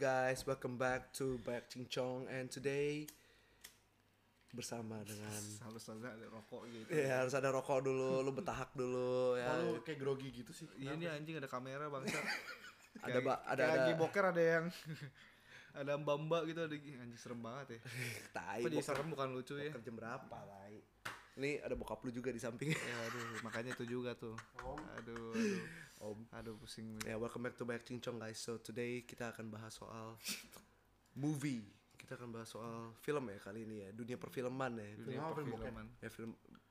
guys, welcome back to Back Cincong, and today bersama dengan harus ada rokok gitu. ya harus ada rokok dulu, lu betahak dulu ya. Lu kayak grogi gitu sih. Iya nih anjing ada kamera bangsa. ada lagi boker ada yang ada mbak gitu ada anjing serem banget ya. Tai. Apa jadi serem bukan lucu ya? Jam berapa, tai? Ini ada bokap lu juga di samping. Ya aduh, makanya itu juga tuh. Aduh. Om. Aduh pusing. Ya, welcome back to Back Cincong guys. So today kita akan bahas soal movie. Kita akan bahas soal film ya kali ini ya, dunia perfilman ya. Dunia perfilman. Ya film.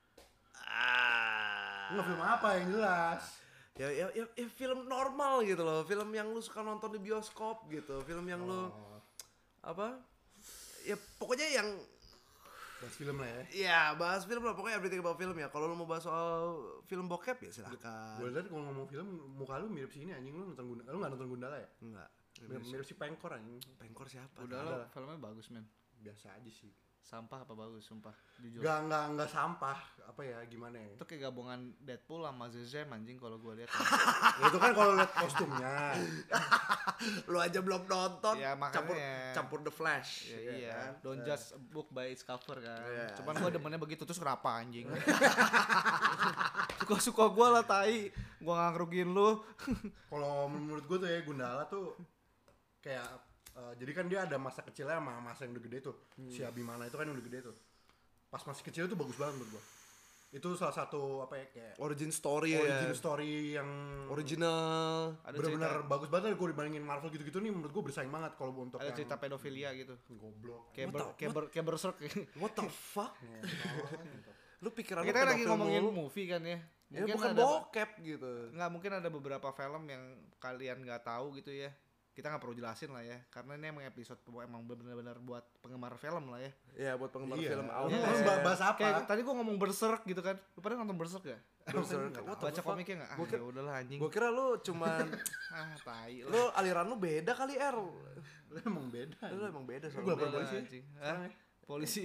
Nggak film apa yang jelas. Ya film normal gitu loh, film yang lu suka nonton di bioskop gitu, film yang lu apa? Ya pokoknya yang Bahas film lah ya. ya bahas film lah, pokoknya everything about film ya. Kalau lu mau bahas soal film bokep ya silakan. Gue liat kalau ngomong film muka lu mirip si ini anjing, lu nggak nonton Gundala ya? Enggak. Mirip si Pengkor anjing. Pengkor siapa? Udah lah, filmnya bagus men. Biasa aja sih. Sampah apa bagus sumpah. Jujur. Nggak sampah. Apa ya gimana ya? Itu kayak gabungan Deadpool sama Zezem anjing kalau gue lihat. Ya, itu kan kalau liat kostumnya. Lu aja belum nonton, Ya, makanya. campur The Flash. Ya, ya iya. kan? Don't judge a book by its cover kan. Iya. Cuman gue demennya begitu terus kenapa anjing? Suka-suka gue lah tai. Gue gak ngerugiin lu. Kalau menurut gue tuh ya Gundala tuh kayak jadi kan dia ada masa kecilnya sama masa yang udah gede tuh. Si Abimana itu kan yang udah gede tuh. Pas masih kecil tuh bagus banget menurut gue. Itu salah satu apa ya kayak Origin story story yang original. Ada bener-bener bagus banget kalau dibandingin Marvel gitu-gitu nih menurut gue bersaing banget kalau untuk ada yang cerita pedofilia gitu. goblok. Kayak Berserk. What the fuck? Lu pikiran Kita lu kan lagi pedofil ngomongin mulu. movie kan ya. Ya bukan ada bokep gitu. nggak mungkin ada beberapa film yang kalian nggak tahu gitu ya. Kita nggak perlu jelasin lah ya, karena ini emang episode emang benar-benar buat penggemar film lah ya. Ya buat penggemar Iya. film awal. Iya. Lu bahas apa? Kayak tadi gua ngomong Berserk gitu kan. Lu pada nonton Berserk gak? Berserk. What the Baca fuck? komiknya nggak? Gua Ah kira- ya udahlah anjing. Gua kira lu cuman Tai lah. lu aliran lu beda kali R. Lu emang beda. Lu emang beda Gua soalnya. lapor Udahlah, polisi ya? anjing. Hah? Polisi.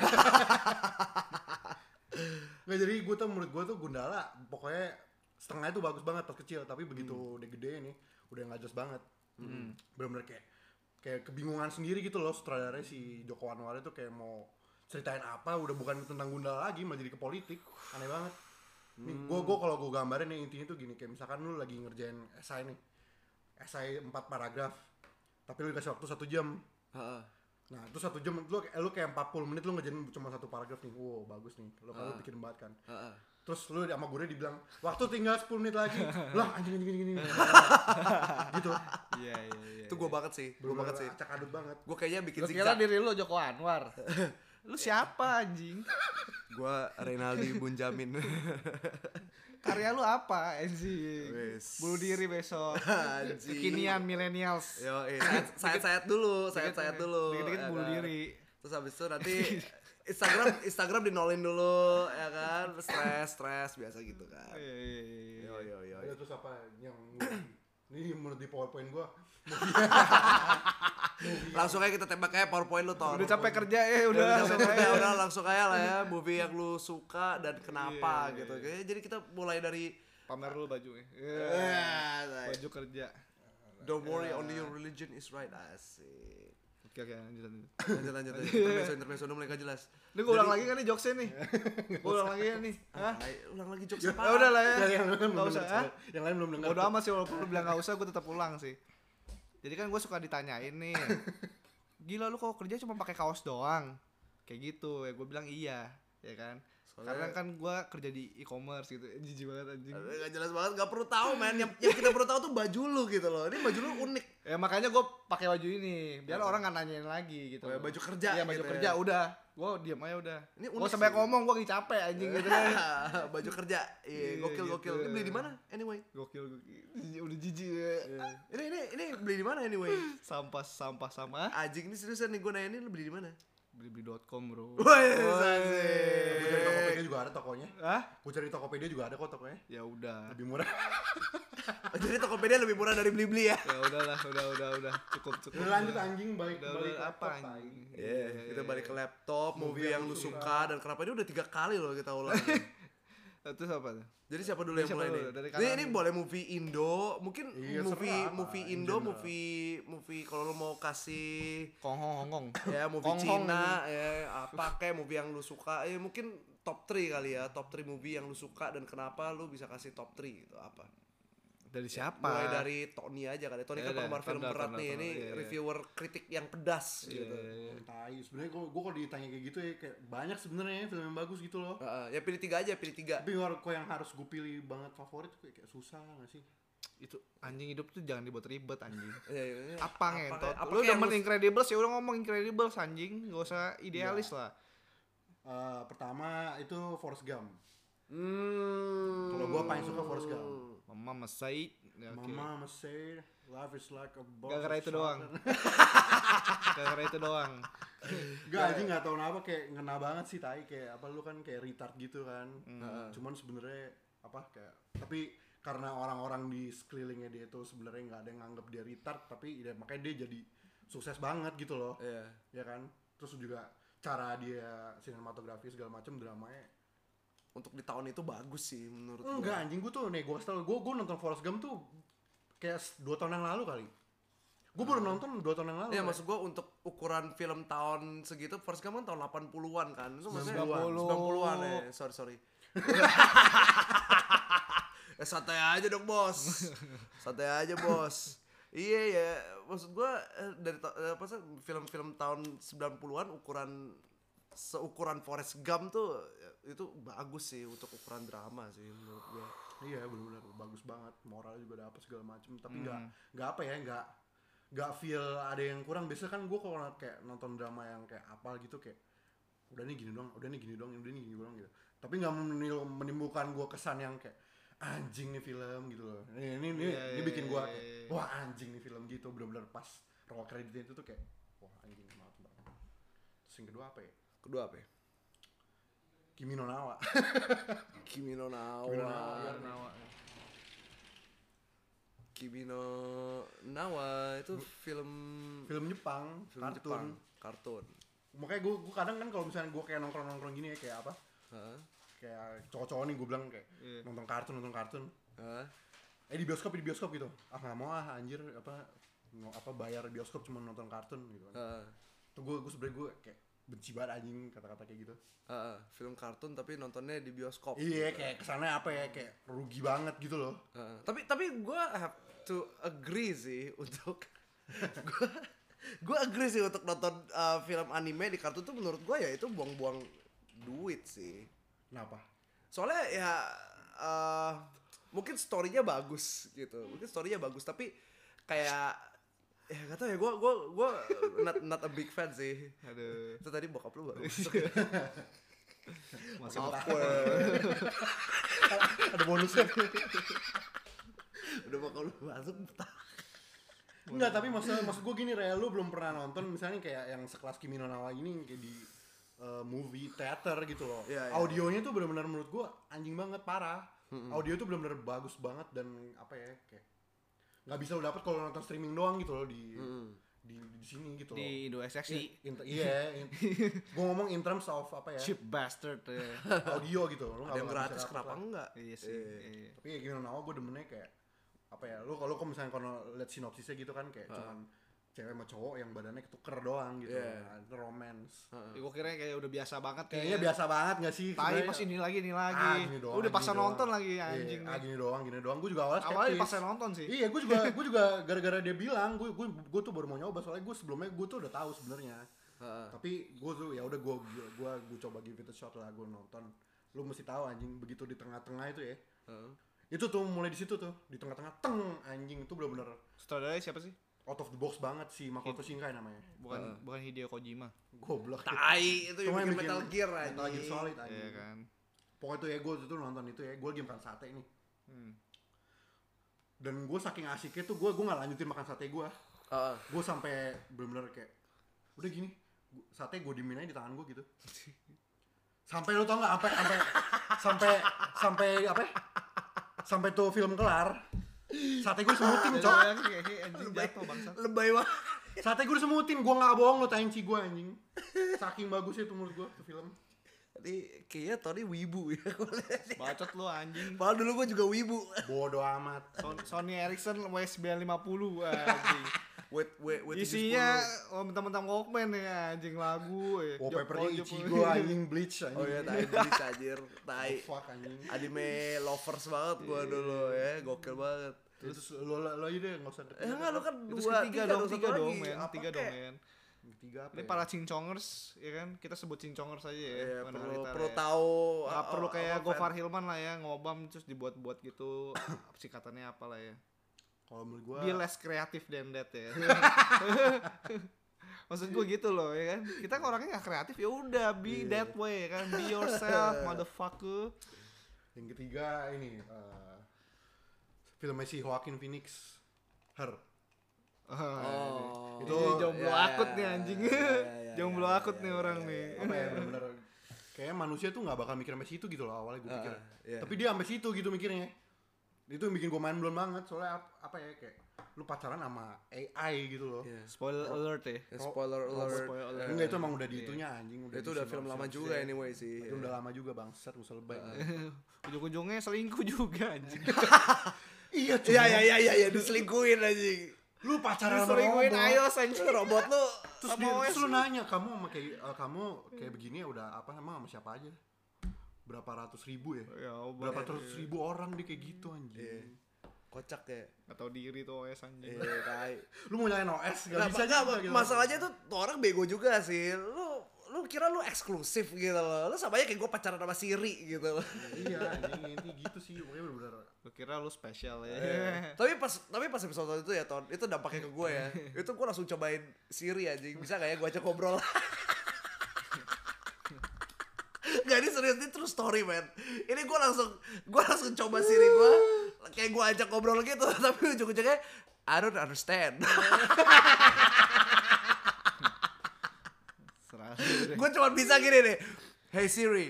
Nggak, jadi gue tuh menurut gue tuh Gundala pokoknya setengah itu bagus banget pas kecil, tapi begitu udah gede nih udah nggak jelas banget. Bener-bener kayak kebingungan sendiri gitu loh sutradaranya si Joko Anwar itu, kayak mau ceritain apa udah bukan tentang Gundala lagi, malah jadi ke politik. Aneh banget. Nih gue kalau gue gambarin nih intinya tuh gini, kayak misalkan lu lagi ngerjain esai nih, esai 4 paragraf tapi lu dikasih waktu 1 jam. Heeh. Nah itu 1 jam lu kayak 40 menit lu ngerjain cuma 1 paragraf nih. Wow bagus nih, lu kalau bikin banget kan. Heeh. Terus lu sama gue dibilang waktu tinggal 10 menit lagi. Lah anjing gitu. Iya. Itu gua banget sih. Gua banget sih. Acak adut banget. Gua kayaknya bikin Lu kira zigzag. diri lu Joko Anwar. Lu siapa anjing? Gua Renaldi Bunjamin. Karya lu apa anjing? Wes. Bunuh diri besok. Anjing. Kekinian millennials. Yo, sayat dulu, sayat dulu. Dikit-dikit ya bunuh kan? diri. Terus habis itu nanti Instagram dinolin dulu ya kan, stres biasa gitu kan. Iya. Yo. Ada terus apa yang ini menurut di PowerPoint gua. Langsung aja kita tembak kayak PowerPoint lu Tor. Udah capek kerja ya udah. Udah langsung aja lah ya, movie yang lu suka dan kenapa Iya. gitu. Kayaknya jadi kita mulai dari Pamer dulu bajunya. Baju kerja. don't worry, only your religion is right. Asik. Oke lanjut. Lanjut. Intermezzo udah mulai gak jelas. Ini gue ulang lagi kan nih jokesnya nih. Gue ulang lagi ya nih. Hah? Ulang lagi jokes Ya apa? udah lah ya. Yang lain Nggak usah. Hah? Yang lain belum dengar. Bodo amat sih walaupun lu bilang gak usah gue tetap ulang sih. Jadi kan gue suka ditanyain nih. Gila lu kalau kerja cuma pakai kaos doang. Kayak gitu ya gue bilang iya. Ya kan. Karena kan gue kerja di e-commerce gitu. Jijik banget anjing. Gak jelas banget, gak perlu tahu men. Yang kita perlu tahu tuh baju lu gitu loh. Ini baju lu unik. Ya makanya gue pakai baju ini biar orang nggak nanyain lagi gitu. Oh, ya, baju kerja Iya baju gitu kerja ya. udah. Gue diam aja udah. Ini Gue unik sampai sih. ngomong gue lagi capek anjing gitu kan. Baju kerja. Iya, Iya, gokil. gitu. Ini beli di mana? Anyway. Gokil. Udah jijik ya. Ini beli di mana anyway? Sampah sama. Anjing ini seriusan nih, gue nanya ini lu beli di mana? Blibli.com bro. Woi, Gue cari Tokopedia juga ada tokonya. Hah? Gue cari Tokopedia juga ada kok tokonya. Ya udah. Lebih murah. Jadi Tokopedia lebih murah dari Blibli ya? Ya udahlah, udah. Cukup. Udah lanjut anjing balik Udah apa laptop, anjing? Iya, kita balik ke laptop, movie yang lu suka dan kenapa ini udah 3 kali loh kita ulang. Terus apa tuh? Jadi siapa dulu yang Siapa mulai dulu? nih? Dari Ini kanan ini dulu. boleh movie Indo, mungkin Iya, movie serah, movie in Indo, general. movie kalau lo mau kasih Hongkong. ya movie Hong-Hong Cina ya apa kayak movie yang lu suka mungkin top 3 kali ya, top 3 movie yang lu suka dan kenapa lu bisa kasih top 3 gitu apa? Dari siapa? Mulai dari Tony aja kali. Tony Ya kan udah, penggemar film Thunder, berat Thunder, nih, ini Thunder, iya. reviewer kritik yang pedas Iya, gitu. iya, iya. Tai, sebenarnya gue kalau ditanya kayak gitu ya kayak banyak sebenarnya film yang bagus gitu loh. Ya pilih 3 aja, pilih 3. Tapi kok yang harus gue pilih banget favorit kayak susah nggak sih? Itu anjing hidup tuh jangan dibuat ribet anjing. Ya. Apa ngentot? apa Lu kayak demen yang Incredibles ya udah ngomong Incredibles anjing, enggak usah idealis lah. Pertama itu Forrest Gump. Kalau Kalau gue paling suka Forrest Gump. Mama Masai. Ya, oke. Mama say life is like a box Gara-gara of itu doang. chocolate. Gara-gara itu doang. Gak aja nggak tahu kenapa kayak ngena banget sih tai kayak apa lu kan kayak retard gitu kan. Cuman sebenarnya apa kayak tapi karena orang-orang di sekelilingnya dia itu sebenarnya nggak ada yang nganggap dia retard tapi ya, makanya dia jadi sukses banget gitu loh. Iya. Ya kan? Terus juga cara dia sinematografi segala macam dramanya Untuk di tahun itu bagus sih menurut enggak anjing gue tuh nih gue tau gue nonton Forrest Gump tuh kayak 2 tahun yang lalu kali. Gue baru nonton 2 tahun yang lalu. Iya kayak. maksud gua untuk ukuran film tahun segitu Forrest Gump kan tahun 80-an kan. Itu maksudnya 90-an. 90-an ya. Sorry. Santai aja dong, Bos. Santai aja, Bos. Iya ya, maksud gua dari apa sih film-film tahun 90-an seukuran Forrest Gump tuh itu bagus sih untuk ukuran drama sih menurut gua. Iya benar-benar bagus banget, moral juga dapet segala macem tapi nggak apa ya nggak feel ada yang kurang. Biasanya kan gue kalau kayak nonton drama yang kayak apa gitu kayak udah nih gini doang gitu, tapi nggak menimbulkan gue kesan yang kayak anjing nih film gitu loh. Ini bikin gue kayak wah anjing nih film gitu, benar-benar pas roll creditnya itu tuh kayak wah anjing banget. Terus yang kedua apa ya? Kedua apa ya? Kimi no Nawa. Kimi no Nawa. Kimi no Nawa itu film Jepang, kartun. Makanya gue kadang kan kalau misalnya gue kayak nongkrong gini ya kayak apa? Kayak cowok-cowok nih gue bilang kayak nonton kartun. Di bioskop gitu. Ah nggak mau anjir apa bayar bioskop cuma nonton kartun gitu kan. Tuh gue sebenarnya gue kayak benci banget anjing kata-kata kayak gitu. Film kartun tapi nontonnya di bioskop. Iya gitu. kayak kesannya apa ya kayak rugi banget gitu loh. Tapi gue have to agree sih untuk gue agree sih untuk nonton film anime di kartun tuh menurut gue ya itu buang-buang duit sih. Kenapa? Soalnya ya mungkin story-nya bagus gitu. Tapi kayak ya gak tau ya gue not a big fan sih. Aduh. Itu tadi bokap lu baru masuk. Masih Ada bonusnya. Udah bokap lu masuk. Enggak, tapi maksud gue gini Rel, lu belum pernah nonton misalnya kayak yang sekelas Kimi no Nawa ini kayak di movie theater gitu loh. Iya, iya. Audionya tuh benar-benar menurut gue anjing banget, parah. Audio tuh benar-benar bagus banget dan apa ya kayak nggak bisa lo dapet kalau nonton streaming doang gitu loh di sini gitu loh. di Indo SXI. Gue ngomong in terms of apa ya? Cheap bastard. Audio gitu. Lo Ada yang nggak bisa gratis dapet kenapa lah. enggak? Iya sih. Iya. Tapi ya Kimi no Nawa gue demennya kayak apa ya? Lo kalau misalnya lihat sinopsisnya gitu kan kayak cuman cewek sama cowok yang badannya ketuker doang gitu. Yeah. Nah, romance. Gue kira kayak udah biasa banget Kayaknya biasa banget gak sih? Tai sebenarnya? pas ini lagi. Gini doang, Udah pasal gini nonton doang. lagi Iya, anjing. gini doang. Gue juga awalnya Awalnya skeptis. pasal nonton sih. Iya, gue juga gara-gara dia bilang, gue tuh baru mau nyoba soalnya sebelumnya gue tuh udah tahu sebenarnya. Tapi gue tuh ya udah gue coba give it a shot lah, gue nonton. Lu mesti tahu anjing begitu di tengah-tengah itu ya. Itu tuh mulai di situ tuh, di tengah-tengah anjing itu benar-benar Sutradaranya siapa sih? out of the box banget sih, Makoto Shinkai namanya. Bukan Hideo Kojima. Goblok. Tai itu yang Cuma bikin Metal Gear aja. Metal Gear Solid anjing. Iya kan. Pokoknya tuh ya gue tuh nonton itu ya, gue lagi makan sate nih. Dan gue saking asiknya tuh gue nggak lanjutin makan sate gue. Gue sampai bener-bener kayak udah gini, sate gue diemin aja di tangan gue gitu. Sampai lo tau nggak sampai apa? Sampai tuh film kelar. Sate gue semutin cok. Anjing jatuh bangsa. Lebay banget. Sate gue semutin, gue nggak bohong lo, tainci gue anjing. Saking bagusnya tuh menurut gue tuh film. Ini kayaknya Tony wibu ya. Bacot lu anjing. Padahal dulu gue juga wibu. Bodoh amat. Sony Ericsson W950 anjing. Wait, Isinya mentang-mentang Walkman ya anjing lagu ya. Wallpapernya Ichigo anjing, Bleach anjing. Oh iya, tai Bleach anjir, tai. Fuck anjing. Anime lovers banget gua dulu ya, gokil banget. Terus lo aja deh enggak usah. Enggak, lu kan Terus dua, ketiga tiga dong, tiga satu dong lagi. men, Apa tiga kek? dong men. Ketiga apa? Ini ya? para cincongers ya kan, kita sebut cincongers aja ya. Iya, wanita perlu ya. tahu. Nggak perlu kayak apa, Gofar Hilman lah ya, ngobam terus dibuat-buat gitu. Singkatannya apa lah ya. Kalau menurut gua Be less creative than that ya. Maksud gue gitu loh ya kan. Kita orangnya gak kreatif ya udah be that way kan. Be yourself motherfucker. yang ketiga ini filmnya si Joaquin Phoenix, Her. Oh. Itu Itu jomblo ya, akut ya, nih anjing. ya, Jomblo ya, akut ya, nih ya, orang ya, nih. Apa ya bener-bener kayaknya manusia tuh nggak bakal mikir sampai situ gitu loh awalnya gue pikir. iya. Tapi dia sampai situ gitu mikirnya. Itu yang bikin gue main blown banget soalnya apa ya kayak lu pacaran sama AI gitu loh. Iya. Spoiler alert ya. Ya, spoiler alert. spoiler alert. Enggak, itu emang udah diitunya anjing udah. Itu udah film lama juga anyway sih. Itu udah lama juga bangsat musuh lebay. Ujung-ujungnya selingkuh juga anjing. Iya cuy. Iya, diselingkuhin anjing. Lu pacaran sama Selingkuhin robot. ayo anjing. Robot lu Terus terus lu nanya kamu sama kayak begini ya udah apa emang sama siapa aja? Berapa ratus ribu ya? Ya, Berapa ratus ribu orang dia kayak gitu anjing. Iya. Kocak ya. Gak tau diri tuh OS anjing. Iya, tai. Lu mau nyalain OS gak Nggak, bisa nggak, juga gitu. masalahnya tuh orang bego juga sih. Lu kira lu eksklusif gitu loh. Lu sama aja kayak gue pacaran sama Siri gitu loh. Iya anjing inti gitu sih pokoknya bener-bener. Lu kira lu spesial ya. Tapi pas episode itu ya Ton, itu dampaknya ke gue ya. Itu gue langsung cobain Siri anjing. Bisa gak ya gue ajak ngobrol? Gak, ini serius, ini true story man. Ini gue langsung coba Siri gue, kayak gue ajak ngobrol gitu. Tapi ujung-ujungnya I don't understand. Gue cuma bisa gini nih. Hey Siri.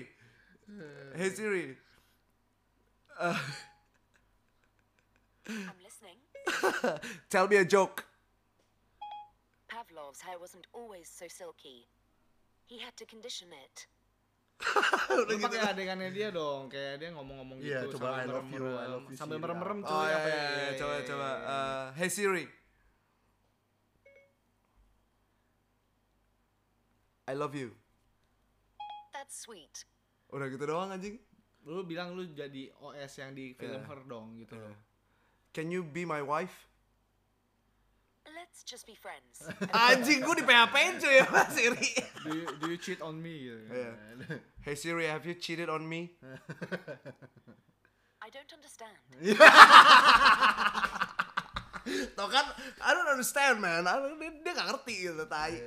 I'm listening. Tell me a joke. Pavlov's hair wasn't always so silky. He had to condition it. Lu pakai adegannya dia dong, kayak dia ngomong-ngomong gitu. Iya, coba I sambil love you, merem-merem. I love you, Sambil Siri. merem-merem tuh. Oh apa iya, ya? coba. Hey Siri. I love you. That's sweet. Udah gitu doang anjing. Lu bilang lu jadi OS yang di film Her dong gitu loh. Can you be my wife? Let's just be friends. Anjing, gue di PHP-in cuy sama Siri. Do you cheat on me gitu. Hey Siri, have you cheated on me? I don't understand. Tau kan, I don't understand man. Dia gak ngerti gitu, tai.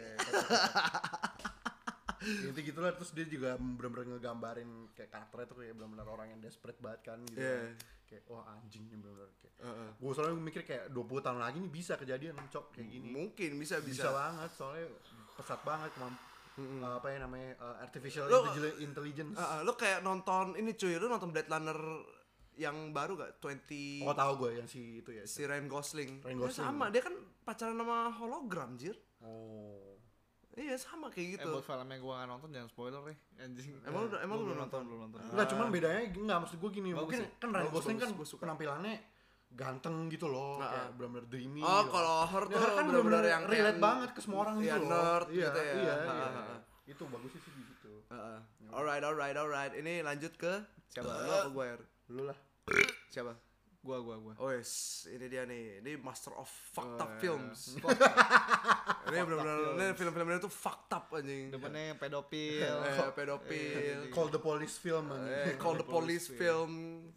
Inti gitu lah, terus dia juga bener-bener ngegambarin kayak karakternya tuh kayak bener-bener orang yang desperate banget kan gitu. Iya. Kayak wah anjing nih bener-bener kayak. Gue soalnya mikir kayak 20 tahun lagi nih bisa kejadian cok kayak gini. Mungkin bisa. Bisa banget soalnya pesat banget apa ya namanya artificial Lo- intelligence. Lu kayak nonton ini cuy, lu nonton Blade Runner yang baru gak? 20 Oh tahu gue yang si itu ya. si Ryan Gosling. Ryan Ya, Gosling. sama, dia kan pacaran sama hologram, jir. Oh. Iya, sama kayak gitu. Buat film yang gua gak nonton jangan spoiler ya anjing. Emang lu Belum nonton? Belum nonton. Enggak, cuman bedanya enggak maksud gue gini, Bagus mungkin ya? kan Ryan Bagus, Gosling kan bagus, gua suka. penampilannya ganteng gitu loh, kayak benar-benar dreamy. Oh, gitu. kalau Her Ya, tuh Her kan bener-bener bener-bener yang relate kayak- banget ke semua orang iya, gitu loh. nerd Iya, gitu ya. Iya, Ha, iya. ha, ha. Itu bagusnya sih di situ. Alright. Ini lanjut ke siapa? Lu apa gue? Lu lah. Siapa? Gua. Oh yes, ini dia nih. Ini master of fucked up iya. films. Ini benar-benar ini film-filmnya tuh fucked up anjing. Demennya pedofil. Pedofil. Call the police film anjing. Call the police film.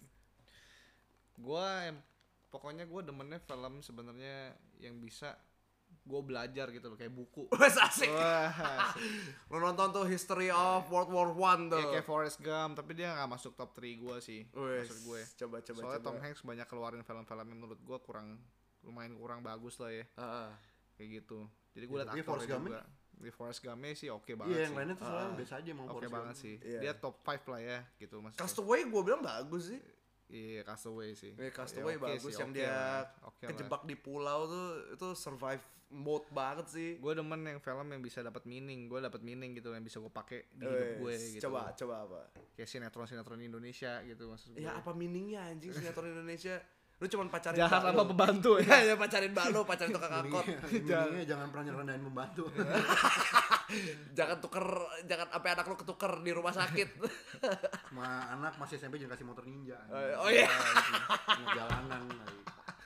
Pokoknya gue demennya film sebenarnya yang bisa gue belajar gitu loh, kayak buku. Wes asik. Wah, asik. Lu nonton tuh History of World War One tuh. Ya, kayak Forrest Gump, tapi dia gak masuk top 3 gue sih. Wes, Maksud gue. coba. Soalnya Tom Hanks banyak keluarin film-film yang menurut gue lumayan kurang bagus lah ya. Kayak gitu. Jadi gue Ya, liat tapi Forrest aktornya Gump juga. Di Forrest Gump sih oke banget Iya, sih. yang lainnya tuh soalnya biasa aja mau Oke Forrest banget Gump. sih. Iya. Dia top 5 lah ya gitu maksudnya. Castaway gue bilang bagus sih. Iya, Castaway sih. Castaway Ya, oke bagus sih, yang oke dia lah, oke lah. kejebak di pulau tuh itu survive mode banget sih. Gue demen yang film yang bisa dapat meaning, gue dapat meaning gitu yang bisa gue pakai di hidup gue gitu. Coba apa? Kayak sinetron Indonesia gitu maksud gue. Ya apa meaningnya anjing sinetron Indonesia? Lu cuman pacarin Jahat mbak sama lu. pembantu Ya pacarin mbak lu, pacarin tukang angkot. Intinya jangan pernah nyerendahin pembantu. Jangan sampai anak lu ketuker di rumah sakit. Sama anak masih SMP jangan kasih motor ninja. Oh iya. Jalanan lagi.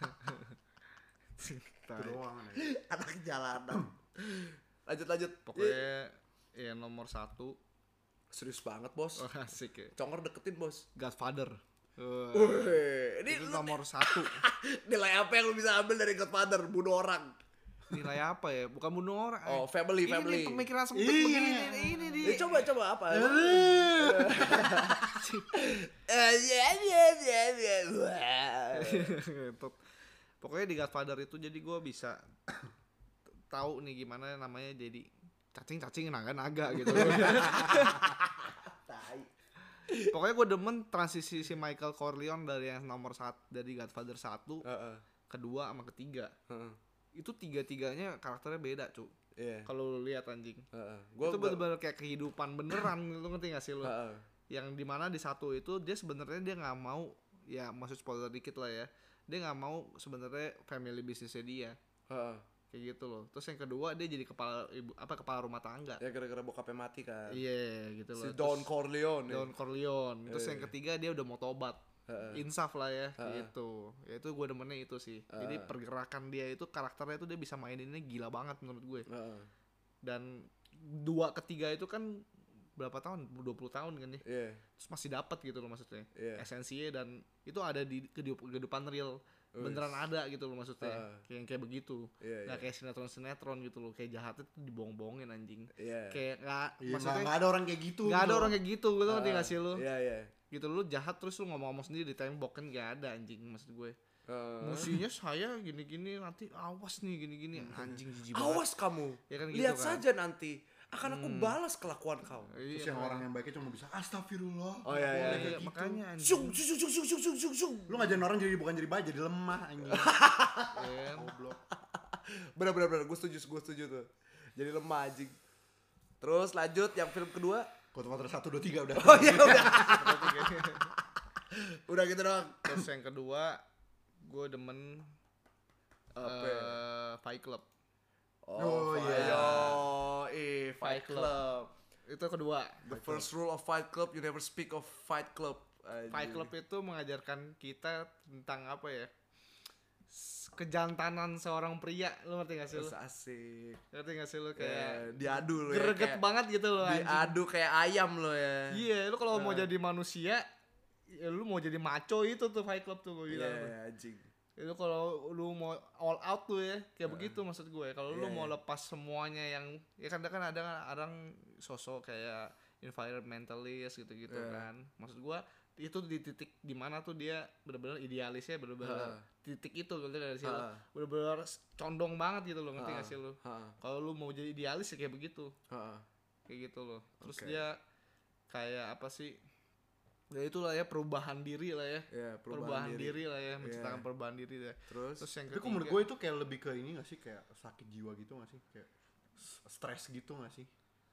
Itu doang. Anak jalanan. Lanjut. Pokoknya ya nomor 1. Serius banget, Bos. Oh, asik ya. Congor deketin, Bos. Godfather. Ini Itu lu nomor 1. nilai apa yang lu bisa ambil dari Godfather? Bunuh orang. Nilai apa ya? Bukan bunuh orang. Oh, family. Ini pemikiran sempit Iya. begini. Ini dia. Coba apa? Pokoknya di Godfather itu jadi gue bisa tahu nih gimana namanya jadi cacing naga gitu. Pokoknya gue demen transisi si Michael Corleone dari yang nomor 1 dari Godfather 1, kedua sama ketiga. Itu tiga-tiganya karakternya beda, cu. Iya. Kalau lu lihat anjing. Gua Itu bener-bener kayak kehidupan beneran, lu ngerti gak sih lu? Heeh. Yang dimana di satu itu dia sebenarnya dia nggak mau, ya maksud spoiler dikit lah ya, dia nggak mau sebenarnya family bisnisnya dia kayak gitu loh. Terus yang kedua dia jadi kepala rumah tangga. Ya gara-gara bokapnya mati kan. Iya gitu loh. Si Don Corleone. Don Corleone. Terus yang ketiga dia udah mau tobat. Insaf lah ya gitu. Ya itu gue demennya itu sih. Jadi pergerakan dia itu karakternya itu dia bisa maininnya gila banget menurut gue. Dan dua ketiga itu kan berapa tahun? 20 tahun kan ya. Iya. Terus masih dapat gitu loh maksudnya. Iya. Esensinya dan itu ada di kehidupan real. Beneran ada gitu loh maksudnya. Kayak begitu. Iya, Nggak iya. kayak sinetron gitu loh. Kayak jahatnya tuh dibohong-bohongin anjing. Iya. Kayak nggak Iya, maksudnya nggak ada orang kayak gitu. nggak ada gitu. orang kayak gitu. Lu ngerti nggak sih lu? Iya. Gitu lu jahat terus lu ngomong sendiri di tembok kan nggak ada anjing maksud gue. Musuhnya saya gini-gini nanti awas nih gini-gini anjing jijik banget. Awas kamu. Ya kan gitu Lihat kan. saja nanti akan aku balas kelakuan kau. Terus Iya, yang orang yang baiknya cuma bisa astagfirullah. Oh, iya, iya. Kayak gitu. makanya anjing. Syung. Lu ngajarin orang jadi bukan jadi baik, jadi lemah anjing. Kan? Goblok. Bener, gue setuju tuh. Jadi lemah anjing. Terus lanjut yang film kedua. Godfather 1, 2, 3 udah. Oh iya udah. Udah gitu doang. Terus yang kedua gue demen Fight Club. Oh, iya. Fight Club. Club. Itu kedua. The first rule of Fight Club, you never speak of Fight Club. Fight Club itu mengajarkan kita tentang apa ya? Kejantanan seorang pria, lu ngerti gak sih lu? Asik. Ngerti gak sih lu kayak Diadu lu ya. greget kayak banget gitu loh anjing. Diadu kayak ayam lo ya. Iya, lu kalau mau jadi manusia, ya lu mau jadi maco itu tuh Fight Club tuh gue bilang. Iya, anjing. Itu kalau lu mau all out tuh ya, kayak begitu maksud gue. Kalau lu mau lepas semuanya yang ya kan ada orang sosok kayak environmentalist gitu-gitu kan. Maksud gue itu di titik dimana tuh dia benar-benar idealisnya benar-benar titik itu gitu dari situ. Benar-benar condong banget gitu loh, ngerti gak sih lu? Kalau lu mau jadi idealis ya kayak begitu. Kayak gitu loh. Terus dia kayak apa sih? Ya itulah ya perubahan diri lah ya. Perubahan diri lah ya, menciptakan perubahan diri ya. Terus yang Tapi ketiga, menurut gue itu kayak lebih ke ini gak sih? Kayak sakit jiwa gitu gak sih? Kayak stres gitu gak sih?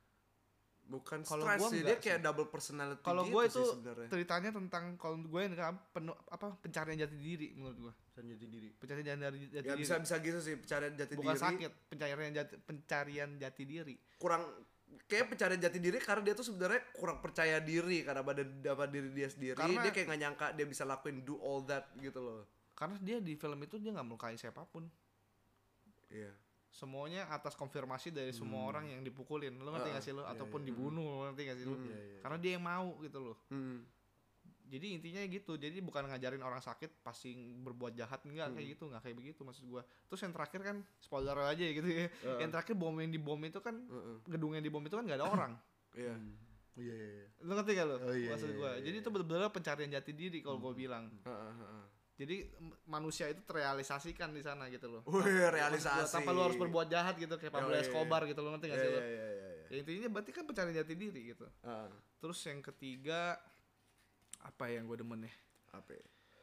bukan Kalau stres gua sih, enggak dia kayak double personality kalau gitu gue sih itu sebenarnya. ceritanya tentang kalau gue kan pencarian jati diri menurut gue. Jati diri. Pencarian jati Ya diri. bisa gitu sih, pencarian jati Bukan diri. sakit, pencarian jati diri. Kurang kayak pencarian jati diri karena dia tuh sebenarnya kurang percaya diri karena pada diri dia sendiri. Karena- dia kayak nggak nyangka dia bisa lakuin do all that gitu loh. Karena dia di film itu dia nggak melukai siapapun. Iya. Semuanya atas konfirmasi dari semua orang yang dipukulin. Lo ngerti gak sih lo? Ataupun dibunuh, lo ngerti gak sih lo? Karena dia yang mau gitu loh. Jadi intinya gitu. Jadi bukan ngajarin orang sakit pasti berbuat jahat, enggak kayak gitu, enggak kayak begitu maksud gua. Terus yang terakhir kan spoiler aja gitu ya. Yang terakhir bom yang dibom itu kan gedung yang dibom itu kan enggak ada orang. Iya. Oh iya iya iya. Lo ngerti gak lo? Oh, iya, maksud iya, gua. iya, Jadi itu benar-benar pencarian jati diri kalau gua bilang. Jadi manusia itu terrealisasikan di sana gitu loh. Wih, realisasi. Tanpa lu harus berbuat jahat gitu kayak Pablo Escobar gitu, lo ngerti gak sih lo? Iya. Ya intinya berarti kan pencarian jati diri gitu. Terus yang ketiga apa yang gue demen ya? Apa? Ya?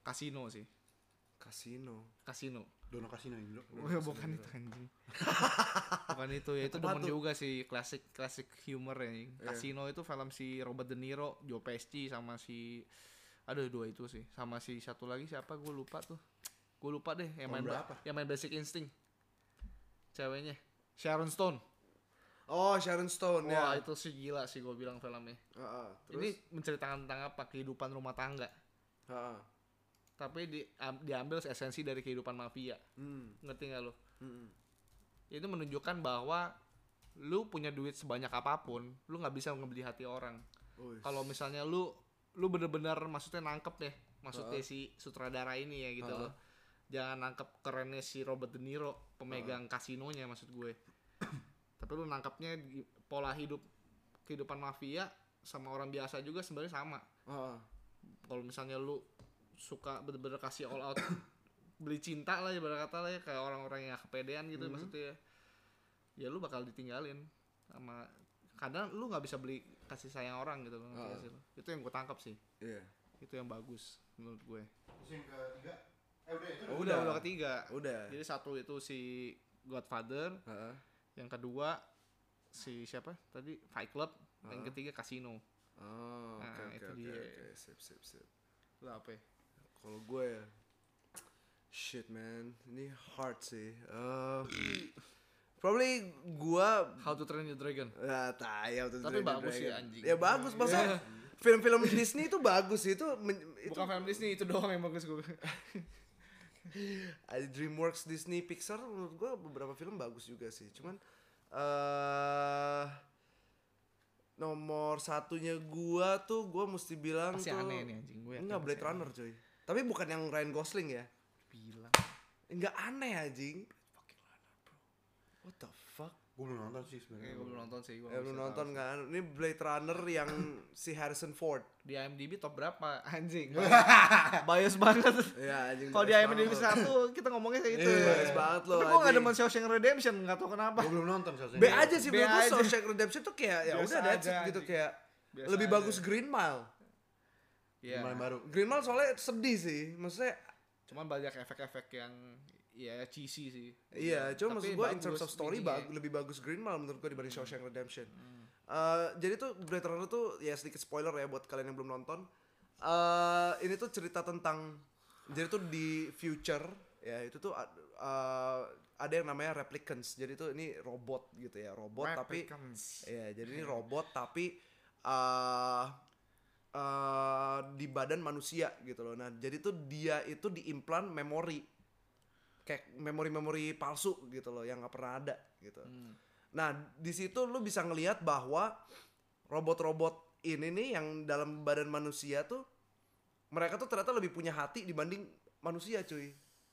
Casino sih. Casino. Dono Casino Indo. Bukan itu anjing. Bukan itu ya, itu demen juga sih klasik humor ya. Casino itu film si Robert De Niro, Joe Pesci sama si dua itu sih. Sama si satu lagi siapa gue lupa tuh. Gue lupa deh yang main Basic Instinct. Ceweknya Sharon Stone. Oh, Sharon Stone ya. Wah, itu sih gila sih gue bilang filmnya. Terus? Ini menceritakan tentang apa? Kehidupan rumah tangga. Tapi diambil esensi dari kehidupan mafia. Ngerti gak lo? Itu menunjukkan bahwa lu punya duit sebanyak apapun, lu nggak bisa ngebeli hati orang. Kalau misalnya lu bener-bener maksudnya nangkep deh, maksudnya si sutradara ini ya gitu loh. Jangan nangkep kerennya si Robert De Niro, pemegang kasinonya maksud gue. Tapi lu nangkepnya pola kehidupan mafia sama orang biasa juga sebenarnya sama. Kalau misalnya lu suka bener-bener kasih all out beli cinta lah ibarat kata lah ya, kayak orang-orang yang kepedean gitu maksudnya ya lu bakal ditinggalin sama, kadang lu nggak bisa beli kasih sayang orang gitu loh. Itu yang gue tangkap sih. Itu yang bagus menurut gue. Terus yang ketiga udah ketiga. Jadi satu itu si Godfather, yang kedua si siapa tadi Fight Club, yang ketiga Casino. Itu dia. Sip. Lu apa ya? Kalau gue ya, shit man, ini hard sih. Probably gue How to Train Your Dragon. Ya tayang tuh. Tapi bagus sih anjing. Ya bagus, masa film-film Disney itu bagus itu. Bukan film Disney, itu doang yang bagus gue. DreamWorks, Disney, Pixar menurut gue beberapa film bagus juga sih. Cuman nomor satunya gue mesti bilang pasti tuh aneh nih anjing gue. Enggak, Blade Runner coy. Tapi bukan yang Ryan Gosling ya. Bilang. Enggak aneh anjing. Fucking Runner bro. What the fuck? Gue belum nonton sih sebenarnya. Gue belum nonton sih. Belum nonton kan? Ini Blade Runner yang si Harrison Ford. Di IMDb top berapa anjing? Bias banget. Ya anjing. Kalau di IMDb 1 kita ngomongnya kayak gitu. Bias banget loh. Tapi gue gak demen Shawshank Redemption, gak tau kenapa. Gue belum nonton Shawshank. B aja sih B menurut gue. aja. Shawshank Redemption tuh kayak ya Biasa udah that's it aja, gitu anjing. kayak Biasa lebih aja. bagus Green Mile. Iya. Main baru. Green Mile soalnya sedih sih. Maksudnya Cuman banyak efek-efek yang ya cheesy sih. iya, cuma Tapi maksud gue in terms bagus of story ininya. lebih bagus Green Mile menurut gue dibanding Shawshank Redemption. Jadi tuh Blade Runner tuh ya sedikit spoiler ya buat kalian yang belum nonton. Ini tuh cerita tentang, jadi tuh di future ya itu tuh ada yang namanya replicants. Jadi tuh ini robot gitu ya, robot Replicants. tapi ya jadi ini robot tapi di badan manusia gitu loh. Nah jadi tuh dia itu diimplan memori, kayak memori palsu gitu loh yang nggak pernah ada gitu. Nah di situ lu bisa ngelihat bahwa robot-robot ini nih yang dalam badan manusia tuh mereka tuh ternyata lebih punya hati dibanding manusia cuy.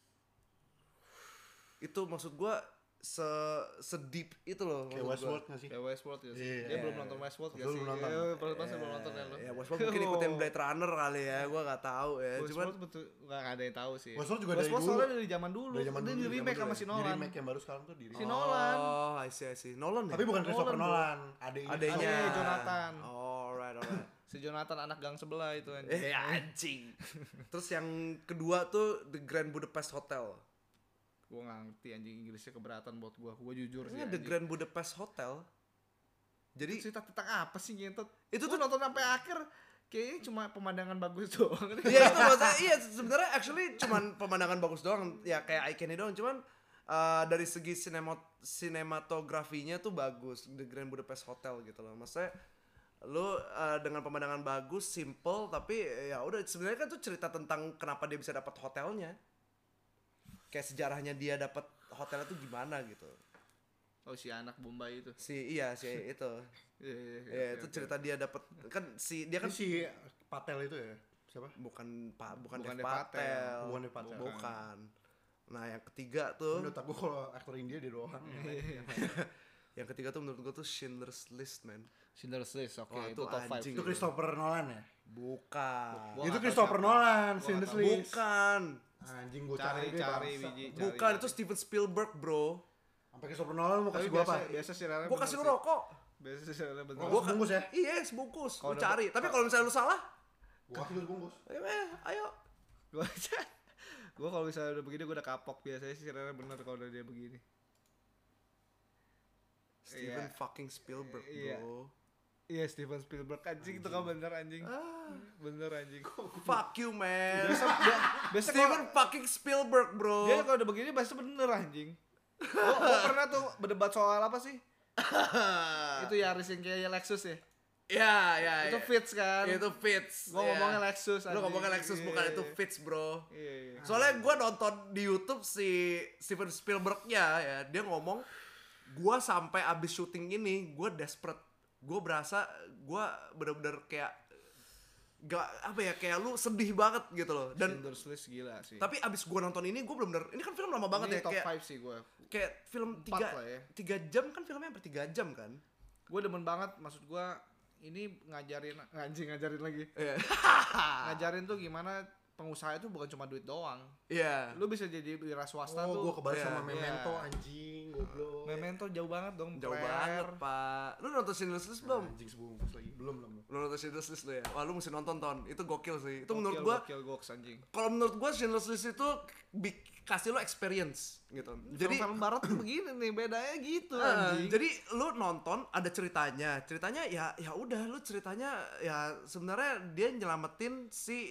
Itu maksud gua se-deep itu loh. Kayak maksud gua. Westworld nggak sih? Kayak Westworld ya sih. Iya. Dia belum nonton Westworld gak Lu sih? belum nonton. Iya, pasti belum nonton ya lo. Ya Westworld mungkin ikutin Blade Runner kali ya, gua nggak tahu ya. Cuman Westworld betul gak ada yang tahu sih. Westworld juga dari Westworld dulu. soalnya dari zaman dulu. Dari zaman Dia dulu, di remake zaman sama dulu si ya. Di Nolan. remake yang baru sekarang tuh di Si Nolan. Oh, I see. Nolan ya? Tapi bukan Christopher Nolan, Nolan, adeknya. Adanya Adanya Jonathan. Alright. Si Jonathan anak gang sebelah itu anjing. Anjing. Terus yang kedua tuh The Grand Budapest Hotel. Gue gak ngerti anjing, Inggrisnya keberatan buat gue jujur sih Ini The anjing. Grand Budapest Hotel. Jadi Cerita tentang apa sih ngentot? Itu Itu tuh- tuh nonton sampai akhir kayaknya cuma pemandangan bagus doang. ya itu maksudnya iya sebenarnya actually cuman pemandangan bagus doang ya kayak eye candy doang, cuman dari segi sinematografinya tuh bagus The Grand Budapest Hotel gitu loh. Maksudnya lu dengan pemandangan bagus, simple, tapi ya udah sebenarnya kan tuh cerita tentang kenapa dia bisa dapat hotelnya. Kayak sejarahnya dia dapat hotelnya tuh gimana gitu. Oh si anak Bombay itu. Si itu. Iya, Ya itu cerita dia dapat kan dia Ini kan si Patel itu ya? Siapa? bukan Bukan Dev Dev Patel. Patel. Bukan Dev Patel. Bukan. Nah, yang ketiga tuh, Menurut aku kalau aktor India dia doang. yang ketiga tuh menurut gua tuh Schindler's List, man. Schindler's List, oke Wah, itu itu top 5. anjing. Itu Christopher Nolan ya? Bukan. Gua Itu nggak tahu Christopher siapa. Nolan, Gua Schindler's nggak tahu. List. Bukan. Anjing gue Cari deh, cari bangsa. biji. Bukan, itu Steven Spielberg, bro. Sampai Christopher Nolan mau Tapi kasih gua apa? biasa sih Rara. Gua kasih lu rokok. Biasa sih Rara bener. Gua sebungkus ya? Iya, sebungkus. Kalau Lu cari. Tapi kalau misalnya lu salah, Gua kasih lu sebungkus. ayo. Gue kalau misalnya udah begini gue udah kapok biasanya sih Rere bener kalau udah dia begini. Steven Iya. fucking Spielberg, Iya. bro. Iya Steven Spielberg anjing itu kan bener anjing. Bener anjing. Fuck you, man. Biasa Steven fucking Spielberg, bro. dia kalau udah begini pasti bener anjing. Gue pernah tuh berdebat soal apa sih? Itu Yaris yang kayak Lexus ya. Ya. Itu Fits kan. Itu Fits. Gue ya. ngomongnya Lexus. Lu ngomongnya Lexus Iya, bukan iya. itu Fits, bro. Iya. Soalnya gue nonton di YouTube si Steven Spielberg-nya ya, dia ngomong, gue sampai abis syuting ini, gue desperate. Gue berasa gue bener-bener kayak gak apa ya, kayak lu sedih banget gitu loh. Dan Schindler's List gila sih. tapi abis gue nonton ini gue bener-bener, ini kan film lama banget ini ya, top kayak 5 sih gue. kayak film 4 lah ya. 3 jam kan, filmnya hampir 3 jam kan. Gue demen banget, maksud gue ini ngajarin lagi. Iya. Ngajarin tuh gimana pengusaha itu bukan cuma duit doang. Iya. Lu bisa jadi wira swasta Oh, tuh. gue kebalik Iya. sama Memento Iya. anjing, goblok. Memento jauh banget dong. Jauh Blair. banget, Pak. Lu nonton Schindler's List belum? Anjing sebungkus lagi. Belum. Lu nonton Schindler's List lu ya? Wah, lu mesti nonton, Ton. Itu gokil sih. Itu Gokil, menurut gua, gokil goks anjing. kalau menurut gua Schindler's List itu kasih lo experience gitu. Jadi Film barat tuh begini nih, bedanya gitu Ah, anjing. jadi lu nonton ada ceritanya ya udah, lu ceritanya ya sebenarnya dia nyelamatin si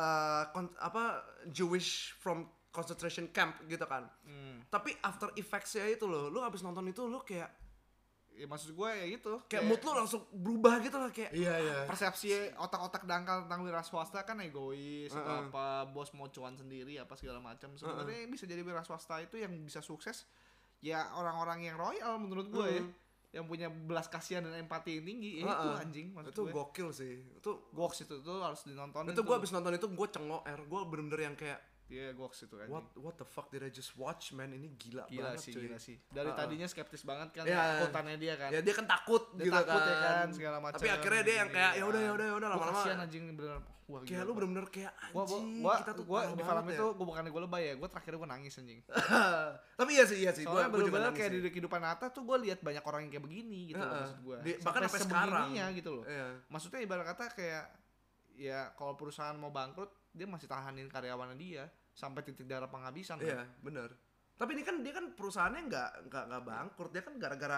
Jewish from concentration camp gitu kan. Tapi after effects-nya itu lu abis nonton itu lu kayak Ya maksud gue ya gitu. mood lu langsung berubah gitu lah, kayak Iya. Persepsi otak-otak dangkal tentang wira swasta kan egois atau apa, bos mau cuan sendiri apa segala macam. Sebenarnya yang bisa jadi wira swasta itu yang bisa sukses ya orang-orang yang royal menurut gue ya. Yang punya belas kasihan dan empati yang tinggi, ya itu anjing maksud itu gue. gokil sih. Itu Goks itu tuh harus ditonton. itu gue abis nonton itu gue cengok gue bener-bener yang kayak Iya, goks itu anjing. what the fuck did I just watch, man? Ini gila Gila banget, sih, cuy. gila sih. Dari tadinya skeptis banget kan Iya. takutannya dia kan. Ya dia kan takut Dia gitu takut kan. ya kan, segala macam. Tapi akhirnya dia yang kayak ya udah Gua lama-lama kasihan anjing bener. Wah, kayak gila, lu Pak. bener-bener kayak Gua anjing kita tuh gua parah di film banget itu ya. gua bukannya gua lebay ya, gua terakhir gua nangis anjing. Tapi iya sih Soalnya gua juga bener-bener nangis kayak sih. di kehidupan nyata tuh gua lihat banyak orang yang kayak begini gitu loh maksud gua. Bahkan sampai sekarang sebegininya gitu loh. Iya. Maksudnya ibarat kata kayak ya kalau perusahaan mau bangkrut dia masih tahanin karyawannya dia sampai titik darah penghabisan kan. Iya, bener. Tapi ini kan dia kan perusahaannya nggak bangkrut, dia kan gara-gara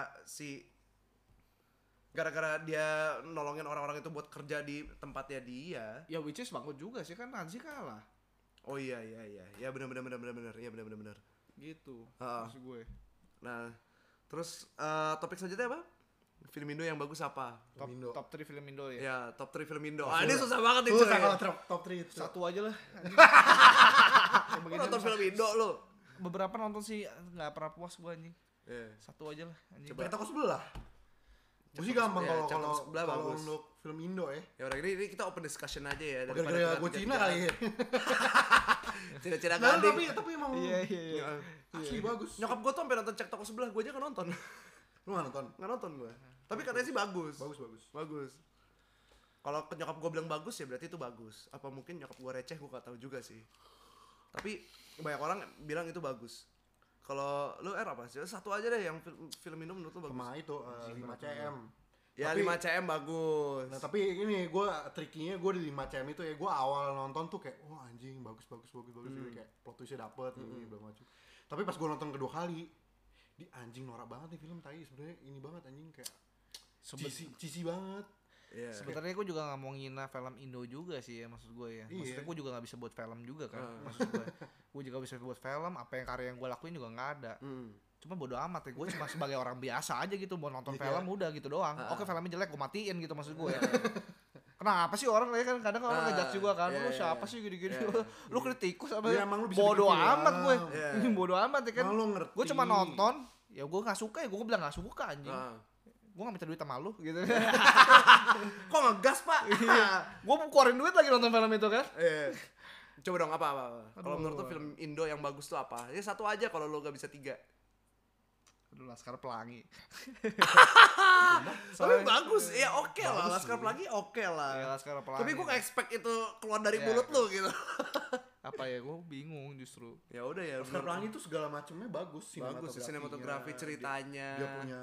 dia nolongin orang-orang itu buat kerja di tempatnya dia. Ya which is bangkrut juga sih kan, Nazi kalah. Oh iya. Ya bener. Iya bener. Gitu. Ah. Maksud gue. Nah, terus topik selanjutnya apa? Film Indo yang bagus apa? Top Indo. top 3 film Indo ya. Ya, top 3 film Indo. Ini susah banget nih, Susah cuy. kalau top 3 itu. Satu aja lah. Yang Lu begini nonton film Indo lu? beberapa nonton sih nggak pernah puas gue anjing. Iya. Satu aja lah anjing. Kayak toko sebelah. Gue sih gampang Ya, Cek kalau Toko Sebelah bagus. untuk film Indo ya. Ya udah, ini kita open discussion aja ya. Gara-gara gue Cina kali ya. Cina-cina Nah, gading. tapi emang Iya. asli bagus. Nyokap gue tuh sampai nonton Cek Toko Sebelah, gue aja nggak nonton. Lu nggak nonton? Nggak nonton gue. Tapi katanya sih bagus. Bagus. Kalau nyokap gue bilang bagus ya berarti itu bagus. Apa mungkin nyokap gue receh, gue gak tahu juga sih. Tapi banyak orang bilang itu bagus. Kalau lu apa sih? Satu aja deh yang film Indo menurut lu bagus. Sama itu 5 cm. Ya Tapi- 5 cm bagus. Nah tapi ini gue trikinya gue di 5 cm itu ya gue awal nonton tuh kayak wah anjing bagus gitu kayak plot twistnya dapet ini belum macam. Tapi pas gue nonton kedua kali di anjing norak banget nih film tai sebenarnya ini banget anjing kayak cheesy banget. Iya. Sebenarnya gue juga nggak mau ngina film Indo juga sih ya maksud gue ya. Maksudnya Iya. gue juga nggak bisa buat film juga kan. Maksud gue juga bisa buat film. Apa yang karya yang gue lakuin juga nggak ada. Cuma bodo amat ya, gue cuma sebagai orang biasa aja gitu mau nonton film udah gitu doang. Oke filmnya jelek gue matiin gitu maksud gue ya. Kenapa sih orang ya kan kadang orang ngejudge juga kan, lu siapa sih gini-gini, lu kritikus apa Ya, emang lu bisa bodo bikin film. amat gue, Iya. bodo amat ya kan. Emang lu ngerti. Gue cuma nonton, ya gue nggak suka ya gue bilang nggak suka anjing. Gue nggak minta duit sama lu gitu. Kok ngegas, Pak? Gue keluarin duit lagi nonton film itu kan. Iya. Coba dong apa? Kalau menurut lu film Indo yang bagus tuh apa? Ya satu aja kalau lu gak bisa 3. Aduh Laskar Pelangi. Tapi bagus, ya oke lah. Laskar Pelangi oke Ya lah. Laskar Pelangi. Tapi gue gak expect itu keluar dari Iya, mulut lu gitu. apa ya gue bingung justru. Ya udah ya. Laskar Pelangi tuh segala macamnya bagus Bagus sih, sinematografi, ceritanya. Dia punya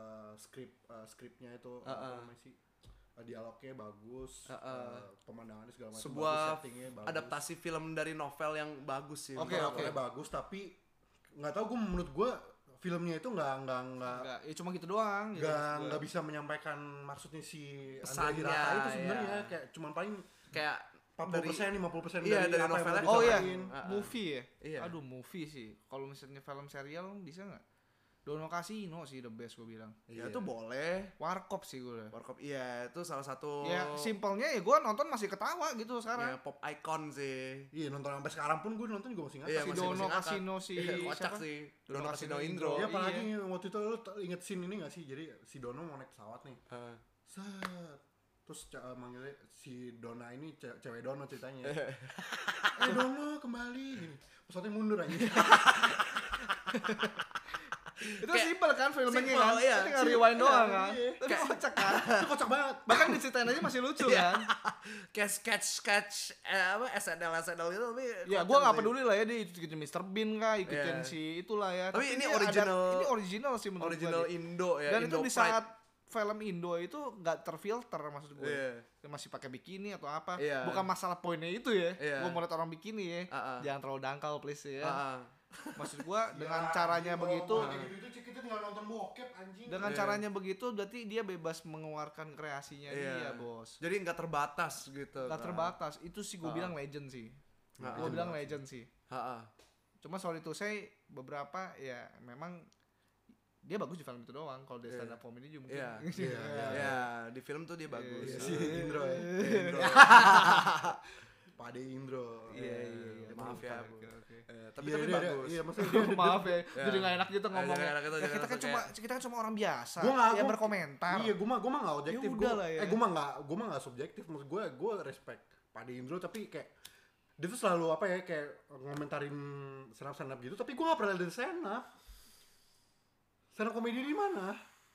skripnya itu apa namanya sih? Dialognya bagus, pemandangannya segala macam. Sebuah bagus, settingnya bagus. adaptasi film dari novel yang bagus sih. Oke, Novelnya bagus, tapi nggak tahu menurut gue filmnya itu nggak Enggak, ya cuma gitu doang gitu. nggak bisa menyampaikan maksudnya si Pesannya, Andrea Hirata itu sebenarnya ya. kayak cuman paling Kayak 40% 50% Iya, dari apa yang novelnya. mau Oh iya, disampaikan. movie ya? Iya. Aduh, movie sih. Kalau misalnya film serial bisa nggak? Dono Casino sih the best gue bilang. ya Iya. itu boleh. Warkop sih gue. Warkop iya itu salah satu Ya simpelnya ya gue nonton masih ketawa gitu ya, sekarang. pop icon sih. Iya, nonton sampai sekarang pun gue nonton juga masih Iya, ngakak Si sih. masih Dono ngakak. Casino si Kocak siapa? sih. Dono Dono Casino Casino Indro. Indro. Ya apalagi Iya. waktu itu lu inget scene ini gak sih? Jadi si Dono mau naik pesawat nih. Heeh. Set. Terus manggilnya si Dona ini cewek Dono ceritanya. Dono kembali gini. Pesawatnya mundur aja. Itu Kayak simpel kan filmnya simpel, kan? iya. Tapi nggak rewind Iya, doang kan? iya. Tapi kocak kan? Itu kocak banget. Bahkan diceritain aja masih lucu Iya. kan? Kayak sketch apa SNL gitu tapi Ya kocak gue nggak sih. peduli lah ya dia ikutin Mr. Bean kah, ikutin Iya. si itulah ya. Tapi ini dia original- ini original sih menurut Original gue. Indo ya. Dan itu Indo di saat film Indo itu nggak terfilter maksud gue. Iya. Dia masih pakai bikini atau apa? Iya. Bukan masalah poinnya itu ya. Iya. Gue mau lihat orang bikini ya. Jangan terlalu dangkal please ya. Maksud gue dengan caranya begitu, Gitu kita tinggal nonton bokep anjing. dengan Iya. caranya begitu, berarti dia bebas mengeluarkan kreasinya dia bos. Jadi nggak terbatas gitu. Gak terbatas. Itu sih gue bilang legend sih. Gue bilang legend sih. Heeh. Cuma sorry to say beberapa ya memang dia bagus di film itu doang. Kalau dia stand up comedy juga mungkin. Iya. Iya. Ya, di film tuh dia bagus. Iya, si Indro ya. Indro. Pade Indro. Iya. Maaf ya. Oke, oke. Tapi Iya, dia- bagus. Iya, maksudnya dia Maaf ya, jadi nggak enak gitu ngomong. jadi nggak enak gitu, Ya, jadi kita kan langsung cuma kita kan cuma orang biasa Gua nggak- yang gua- berkomentar. Iya, gue mah nggak objektif. Ya udah lah ya. Gue mah nggak subjektif. Maksud gue respect Pade Indro, tapi kayak dia tuh selalu apa ya, kayak ngomentarin stand up gitu. Tapi gue nggak pernah lihat stand up. Stand up komedi di mana?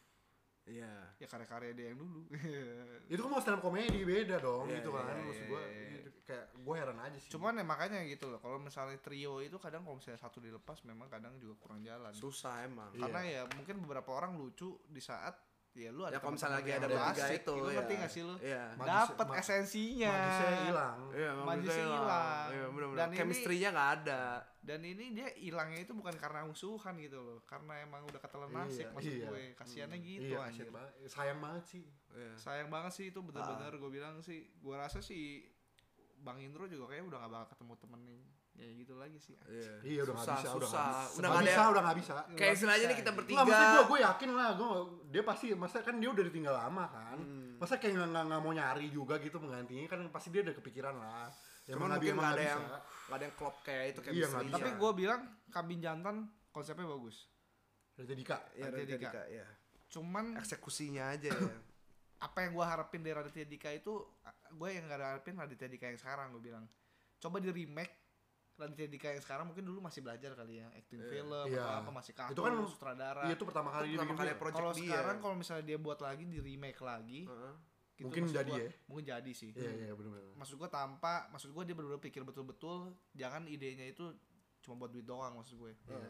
Iya. Ya karya-karya dia yang dulu. Itu kan mau stand up komedi beda dong, Iya, gitu kan. iya, Maksud iya, gue iya. kayak gue heran aja sih. Cuman ya makanya gitu loh. Kalau misalnya trio itu kadang kalau misalnya satu dilepas memang kadang juga kurang jalan. Susah emang. Karena ya mungkin beberapa orang lucu di saat ya lu ada Ya kalau misalnya lagi teman-teman ada yang bertiga asik, itu lu ya. ngerti gak sih lu? Iya. Dapat Magis- esensinya. Magisnya hilang. Iya, Magisnya hilang. Iya, benar-benar. Dan ini- Chemistry-nya nggak ada. Dan ini dia hilangnya itu bukan karena musuhan gitu loh, karena emang udah ketelan nasib maksud iya. gue. Kasiannya gitu Iya, anjir. kasian banget. Sayang banget sih. Iya. Sayang banget sih itu bener-bener gue bilang sih. Gue rasa sih Bang Indro juga kayaknya udah gak bakal ketemu temen nih kayak gitu lagi sih. Iya, udah nggak bisa, udah susah. nggak bisa. Udah Nggak nggak bisa, ada. udah nggak bisa. Kayak istilahnya nih kita Nggak, bertiga. Nggak, maksudnya gue yakin lah, dia pasti, masa kan dia udah ditinggal lama kan, masa kayak nggak mau nyari juga gitu penggantinya, kan pasti dia udah kepikiran lah. Ya, Cuman emang mungkin emang nggak ada bisa. yang nggak ada yang klop kayak itu kayak Iya, nggak chemistry-nya. Tapi gue bilang Kambing Jantan konsepnya bagus. Raditya Dika. Iya, Raditya Raditya Dika. Dika, iya. Cuman Eksekusinya aja ya. apa yang gue harapin dari Raditya Dika itu, gue yang gak harapin Raditya Dika yang sekarang. Gue bilang coba di remake Raditya Dika yang sekarang, mungkin dulu masih belajar kali ya, acting film Iya. atau apa, masih kaku, Itu kan sutradara. Iya, itu pertama kali Pertama dia kali bikin. project Kalau dia. sekarang kalau misalnya dia buat lagi, di remake lagi, Heeh. gitu, Mungkin maksud jadi gua, ya. mungkin jadi sih. Iya, iya, benar-benar. Maksud gue dia benar-benar pikir betul-betul, jangan idenya itu cuma buat duit doang maksud gue. Iya.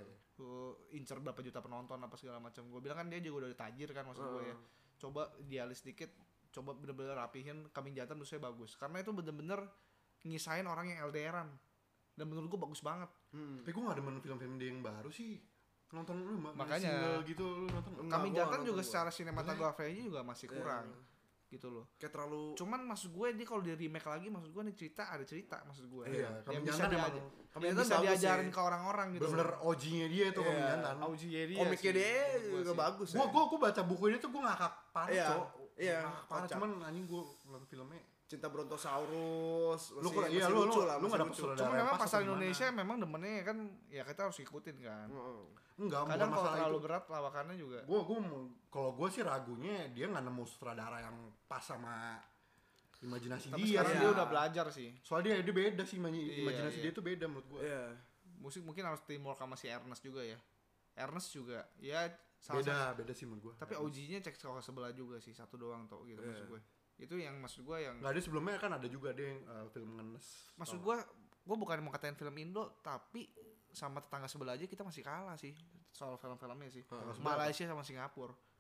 Incer berapa juta penonton apa segala macam. Gue bilang kan dia juga udah tajir kan maksud gue ya. Coba dialis dikit, coba bener-bener rapihin. Kambing Jantan menurut saya bagus karena itu bener-bener ngisahin orang yang LDRan. Dan menurut gue bagus banget. Tapi gue nggak demen film-film dia yang baru sih. Nonton lu Makanya. single gitu, lu nonton. Kambing gua Jantan nonton juga gua. secara sinematografinya juga masih kurang. Gitu loh. Kayak terlalu Cuman maksud gue dia kalau di remake lagi, maksud gue nih ada cerita maksud gue. Iya, yang Kambing bisa Jantan diajar, emang Kambing yang Jantan bisa bagus diajarin sih. ke orang-orang gitu. bener-bener OG-nya dia tuh Kambing Iya. Jantan. Auji Yeria komiknya sih, dia menurut gua juga sih. bagus ya. Gue baca buku ini tuh gue ngakak parah, Iya, Cok. iya, Ngakak parah, kocak. cuman anjing gue nonton filmnya. Cinta Brontosaurus. Lu kurang- iya, lu lucu lah, lu masih nggak dapet lucu. saudara Cuma yang memang pas pasar atau gimana? Indonesia memang demennya kan ya kita harus ikutin kan. Heeh. Enggak, Kadang bukan kalau masalah terlalu itu. berat lawakannya juga. Kalau gue sih ragunya dia nggak nemu sutradara yang pas sama imajinasi Tapi dia. sekarang iya. dia udah belajar sih. Soalnya dia beda sih Iya, imajinasi iya. dia tuh beda menurut gue. Iya. Musik mungkin harus teamwork sama si Ernest juga ya. Ernest juga ya salah satu. Beda sih menurut gue. Tapi OG-nya cek ke sebelah juga sih, satu doang tau gitu maksud gue. Itu yang maksud gue yang Nggak ada sebelumnya kan ada juga dia yang film ngenes. maksud gue bukan mau katain film Indo, tapi sama tetangga sebelah aja kita masih kalah sih soal film-filmnya sih. Malaysia sama Singapura.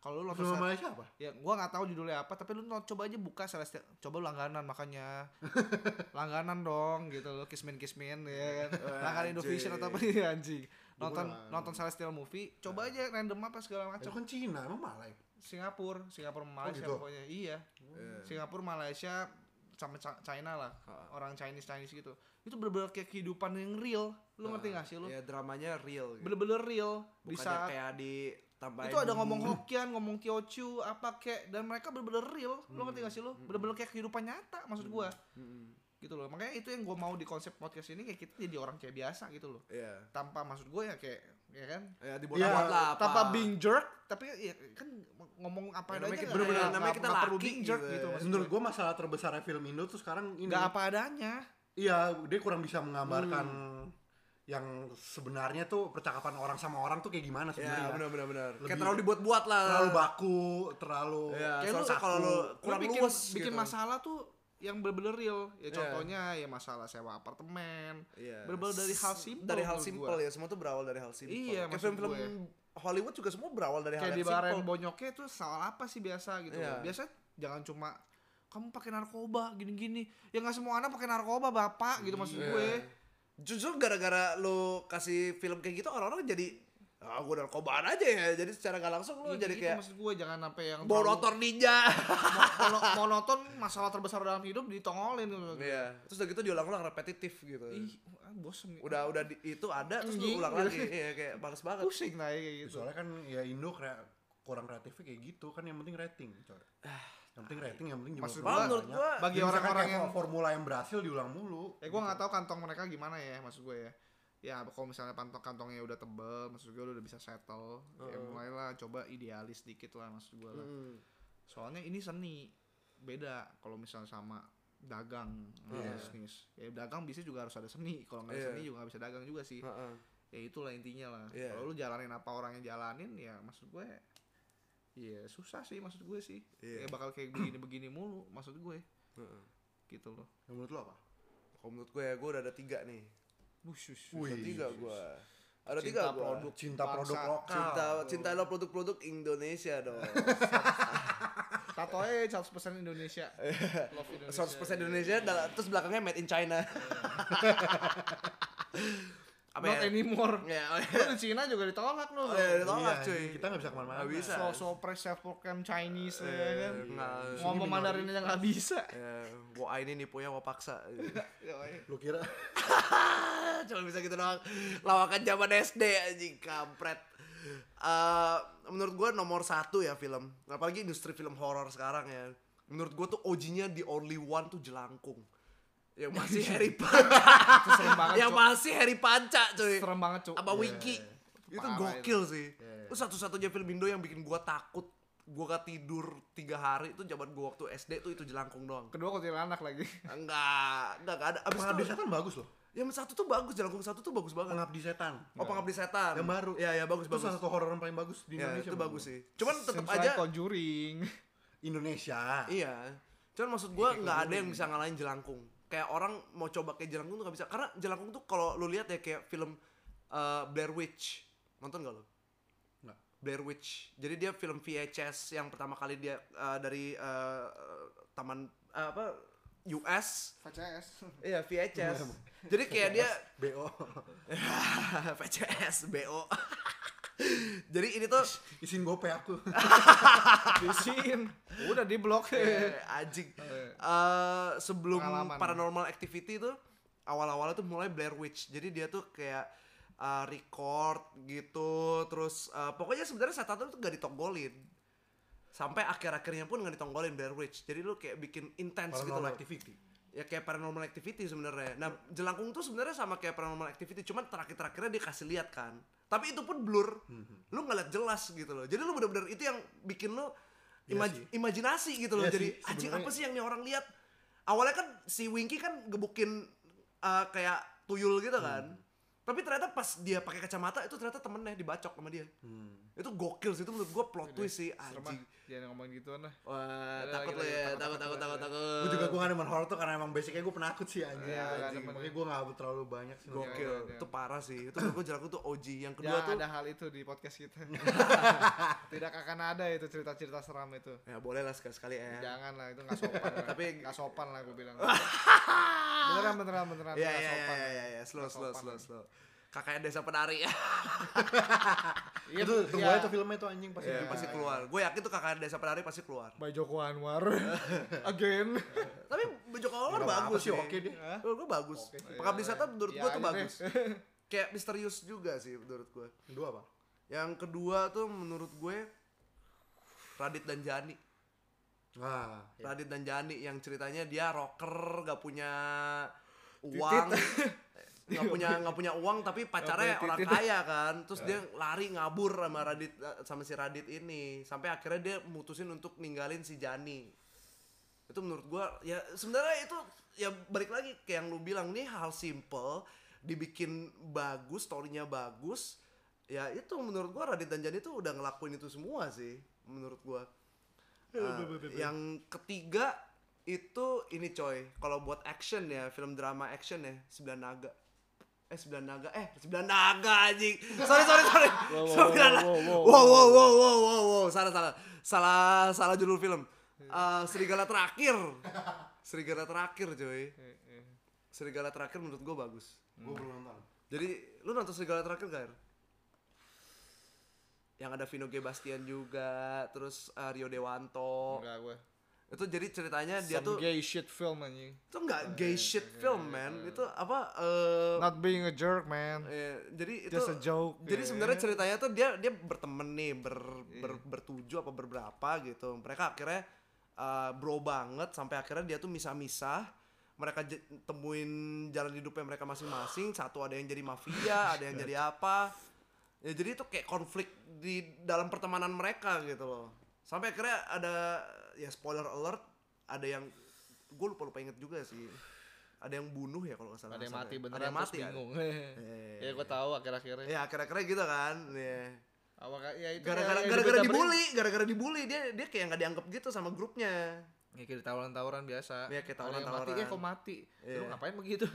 Kalau lu nonton Film Malaysia apa? ya gua nggak tahu judulnya apa, tapi lu coba aja buka Celestial, coba lu langganan makanya. Langganan dong gitu lo, Kismin ya kan. Langganan Indovision atau apa ya anjing. Nonton Celestial movie, coba aja random apa segala Itu macam. kan Cina, emang Malay. Singapura Malaysia gitu? pokoknya. Iya. Singapura, Malaysia sama China lah. Orang Chinese gitu. Itu bener-bener kayak kehidupan yang real. Lu ngerti gak sih lu? Ya dramanya real gitu. Bener-bener real. Bukannya Bisa kayak ditambahin itu ada ngomong bumbu. Hokkien, ngomong Teochew, apa kek, dan mereka bener-bener real. Lu ngerti gak sih lu? Bener-bener kayak kehidupan nyata maksud gua. Gitu loh. Makanya itu yang gua mau di konsep podcast ini, kayak kita jadi orang kayak biasa gitu loh. Iya. Tanpa maksud gua ya kayak ya kan? Ya dibuat-buat lah apa. Tanpa being jerk, tapi ya kan ngomong apa Ya, namanya adanya kita- nggak- bener-bener nggak- namanya kita nggak perlu laki being jerk gitu gitu ya. maksud Menurut gua. gue masalah terbesarnya film Indo tuh sekarang ini. Nggak apa adanya. Iya, dia kurang bisa menggambarkan yang sebenarnya tuh percakapan orang sama orang tuh kayak gimana Ya sebenarnya. benar. Kayak Lebih- terlalu dibuat-buat lah. Terlalu baku, terlalu Ya, Kayak soalnya kalau lu Lu kurang bikin luas bikin gitu. masalah tuh yang bener-bener real. Ya Iya. contohnya ya masalah sewa apartemen. Iya. Bener-bener dari hal simpel. Dari hal menurut simpel gua. ya, semua tuh berawal dari hal simpel. Iya, Kayak maksud film-film gue. Hollywood juga semua berawal dari hal Kayak di yang Baren simpel. Bonyoknya itu soal apa sih biasa gitu. Iya. Biasa jangan cuma kamu pakai narkoba gini-gini. Ya nggak semua anak pakai narkoba, Bapak, gitu maksud Iya. gue. Justru gara-gara lu kasih film kayak gitu orang-orang jadi gue narkobaan aja ya. Jadi secara gak langsung lu Iya, jadi gitu kayak maksud gue, jangan sampai yang bawa terlalu- motor ninja. monoton masalah terbesar dalam hidup ditongolin gitu. Iya. Terus udah gitu diulang-ulang repetitif gitu. Ih, bosen. Udah itu ada terus lu Anjing. ulang lagi. Iya kayak males banget. pusing lah kayak gitu. Soalnya kan ya Indo kurang kreatifnya kayak gitu kan, yang penting rating, coy. Yang penting rating, yang penting Maksud jumlah gua, menurut banyak. gua, Ya, bagi misalkan orang-orang kayak yang- formula yang berhasil diulang mulu. Gue nggak tahu kantong mereka gimana ya, maksud gue ya. Ya kalau misalnya kantongnya udah tebel, maksud gue udah bisa settle. Ya mulailah coba idealis dikit lah maksud gue lah. Soalnya ini seni, beda kalau misalnya sama dagang bisnis. Ya dagang bisnis juga harus ada seni. Kalau nggak ada Iya. seni juga nggak bisa dagang juga sih. Heeh. Ya itulah intinya lah. Iya. Kalau lu jalanin apa orang yang jalanin, ya maksud gue ya susah sih maksud gue sih. Iya. Ya bakal kayak begini-begini mulu maksud gue. Heeh. Gitu loh. Yang menurut lo apa? Kalau menurut gue ya, gue udah ada 3 nih. Wih, Ada 3 gue. Ada 3 Cinta gue. produk cinta bangsa. produk lokal. Cinta lo produk-produk Indonesia dong. Tatonya 100% Indonesia. Love Indonesia. 100% Indonesia, terus belakangnya made in China. Apa Not ya? anymore. Ya, Lu di Cina juga ditolak lu. ditolak Iya, cuy. kita nggak bisa kemana-mana. Nggak bisa. So self proclaim Chinese ya kan. Nggak, Ngomong Mandarin aja nggak bisa. ya, gua ini nipunya gua paksa. Lu kira Cuma bisa gitu doang. Lawakan zaman SD anjing kampret. Menurut gua nomor 1 ya film. Apalagi industri film horor sekarang ya. Menurut gua tuh OG-nya the only one tuh Jelangkung. Yang masih Harry Panca. Itu serem banget. Yang Cok. masih Harry Panca cuy. Serem banget, Cuk. Apa Wiki. Itu Parah gokil sih. Iya. Itu satu-satunya film Indo yang bikin gua takut. Gua gak tidur 3 hari itu zaman gua waktu SD tuh itu Jelangkung doang. Kedua kuntilanak lagi. Enggak ada. Abis Pengabdi itu Setan bagus loh. yang satu tuh bagus, Jelangkung 1 tuh bagus banget. Pengabdi Setan. Oh, Pengabdi Setan. Yang baru. Iya, bagus Itu salah satu horor yang paling bagus di Ya, Indonesia. itu menurut bagus gua. sih. Cuman tetap Seems aja like Conjuring. Indonesia. iya. Cuman maksud gua nggak ada yang bisa ngalahin Jelangkung. Kayak orang mau coba kayak Jelangkung tuh gak bisa. Karena Jelangkung tuh kalau lu lihat ya kayak film Blair Witch. Nonton gak lu? Nggak. Blair Witch. Jadi dia film VHS yang pertama kali dia dari taman US. VCS. Iya, VHS. Jadi kayak dia BO. VCS, BO. Jadi ini tuh Isin gope aku. Disin. Udah di blok. anjing. Sebelum Pengalaman. Paranormal Activity tuh awal-awalnya tuh mulai Blair Witch. Jadi dia tuh kayak record gitu, terus pokoknya sebenarnya setan tuh gak ditogolin. Sampai akhir-akhirnya pun gak ditogolin Blair Witch. Jadi lu kayak bikin intens gitu Paranormal loh. Activity. Ya kayak Paranormal Activity sebenarnya. Nah, Jelangkung tuh sebenarnya sama kayak Paranormal Activity, cuman terakhir-terakhirnya dia kasih lihat kan. Tapi itu pun blur. Lu nggak lihat jelas gitu loh. Jadi lu bener-bener itu yang bikin lu Iya sih. imajinasi gitu loh. Iya Jadi sih, anjing sebenarnya. apa sih yang nih orang lihat? Awalnya kan si Winky kan gebukin kayak tuyul gitu kan. Tapi ternyata pas dia pakai kacamata itu ternyata temennya dibacok sama dia. Itu gokil sih, itu menurut gue plot twist sih Serem anjing. ah. Jangan ngomongin gituan lah. Wah, Udah, takut lagi, lo ya, takut. takut. Gue juga gue gak demen horror tuh karena emang basicnya gue penakut sih anjing. Iya, Anjing. demen. Makanya gue gak terlalu banyak sih. Gokil, Iya. itu parah sih. Itu menurut gue Jelangkung tuh OG. Yang kedua Jangan tuh ada hal itu di podcast kita. Tidak akan ada itu cerita-cerita seram itu. ya boleh lah sekali-sekali ya. Jangan lah, itu nggak sopan. Lah. Tapi nggak sopan lah gue bilang. beneran. Iya, nggak sopan. slow. Nggak sopan. Kakaknya Desa Penari ya. Iya, Itu tunggu iya. aja tuh filmnya tuh anjing pasti. Iya, pasti keluar. Gue yakin tuh kakaknya Desa Penari pasti keluar. By Joko Anwar. Again. Tapi Joko Anwar Nggak apa-apa bagus sih, sih. oke dia. Menurut gue bagus. Oke. Pengabdi Setan menurut Iya gue tuh aja bagus. deh. Kayak misterius juga sih menurut gue. Kedua apa? Yang kedua tuh menurut gue Radit dan Jani. Nah, Radit dan Jani yang ceritanya dia rocker, gak punya uang, nggak punya uang tapi pacarnya Nggak punya orang titit. kaya kan, terus dia lari ngabur sama si Radit ini, sampai akhirnya dia mutusin untuk ninggalin si Jani. Itu menurut gua ya sebenarnya itu ya balik lagi kayak yang lu bilang nih, hal simple dibikin bagus, storynya bagus. Ya itu menurut gua Radit dan Jani tuh udah ngelakuin itu semua sih menurut gua. Yang ketiga itu ini coy, kalau buat action ya, film drama action ya, Sembilan Naga anjing. Sorry. Wow. Salah judul film. Serigala Terakhir coy. Serigala Terakhir menurut gue bagus. gue belum nonton. Jadi lu nonton Serigala Terakhir gak? Yang ada Vino G. Bastian juga, terus Rio Dewanto. Enggak gue. Itu jadi ceritanya dia Some tuh gay shit film anjing. itu nggak gay shit film man, itu apa Not being a jerk man. jadi itu Just a joke. jadi ya. sebenarnya ceritanya tuh dia berteman nih bertujuh apa berberapa gitu, mereka akhirnya bro banget sampai akhirnya dia tuh misah-misah, mereka temuin jalan hidupnya mereka masing-masing, satu ada yang jadi mafia ada yang jadi apa ya, jadi itu kayak konflik di dalam pertemanan mereka gitu loh, sampai akhirnya ada ya spoiler alert, ada yang gue lupa inget juga sih, ada yang bunuh ya kalau nggak salah, Ada yang mati beneran, ada yang mati terus kan? bingung. Ya gue tahu akhir-akhirnya. Ya akhir-akhirnya gitu kan ya. Ya itu Gara-gara dibully dia kayak nggak dianggap gitu sama grupnya. Ya kayak tawuran-tawuran biasa. Iya, kayak Ada yang tawuran-tawuran. mati, kok mati. Iya. Lu ngapain begitu?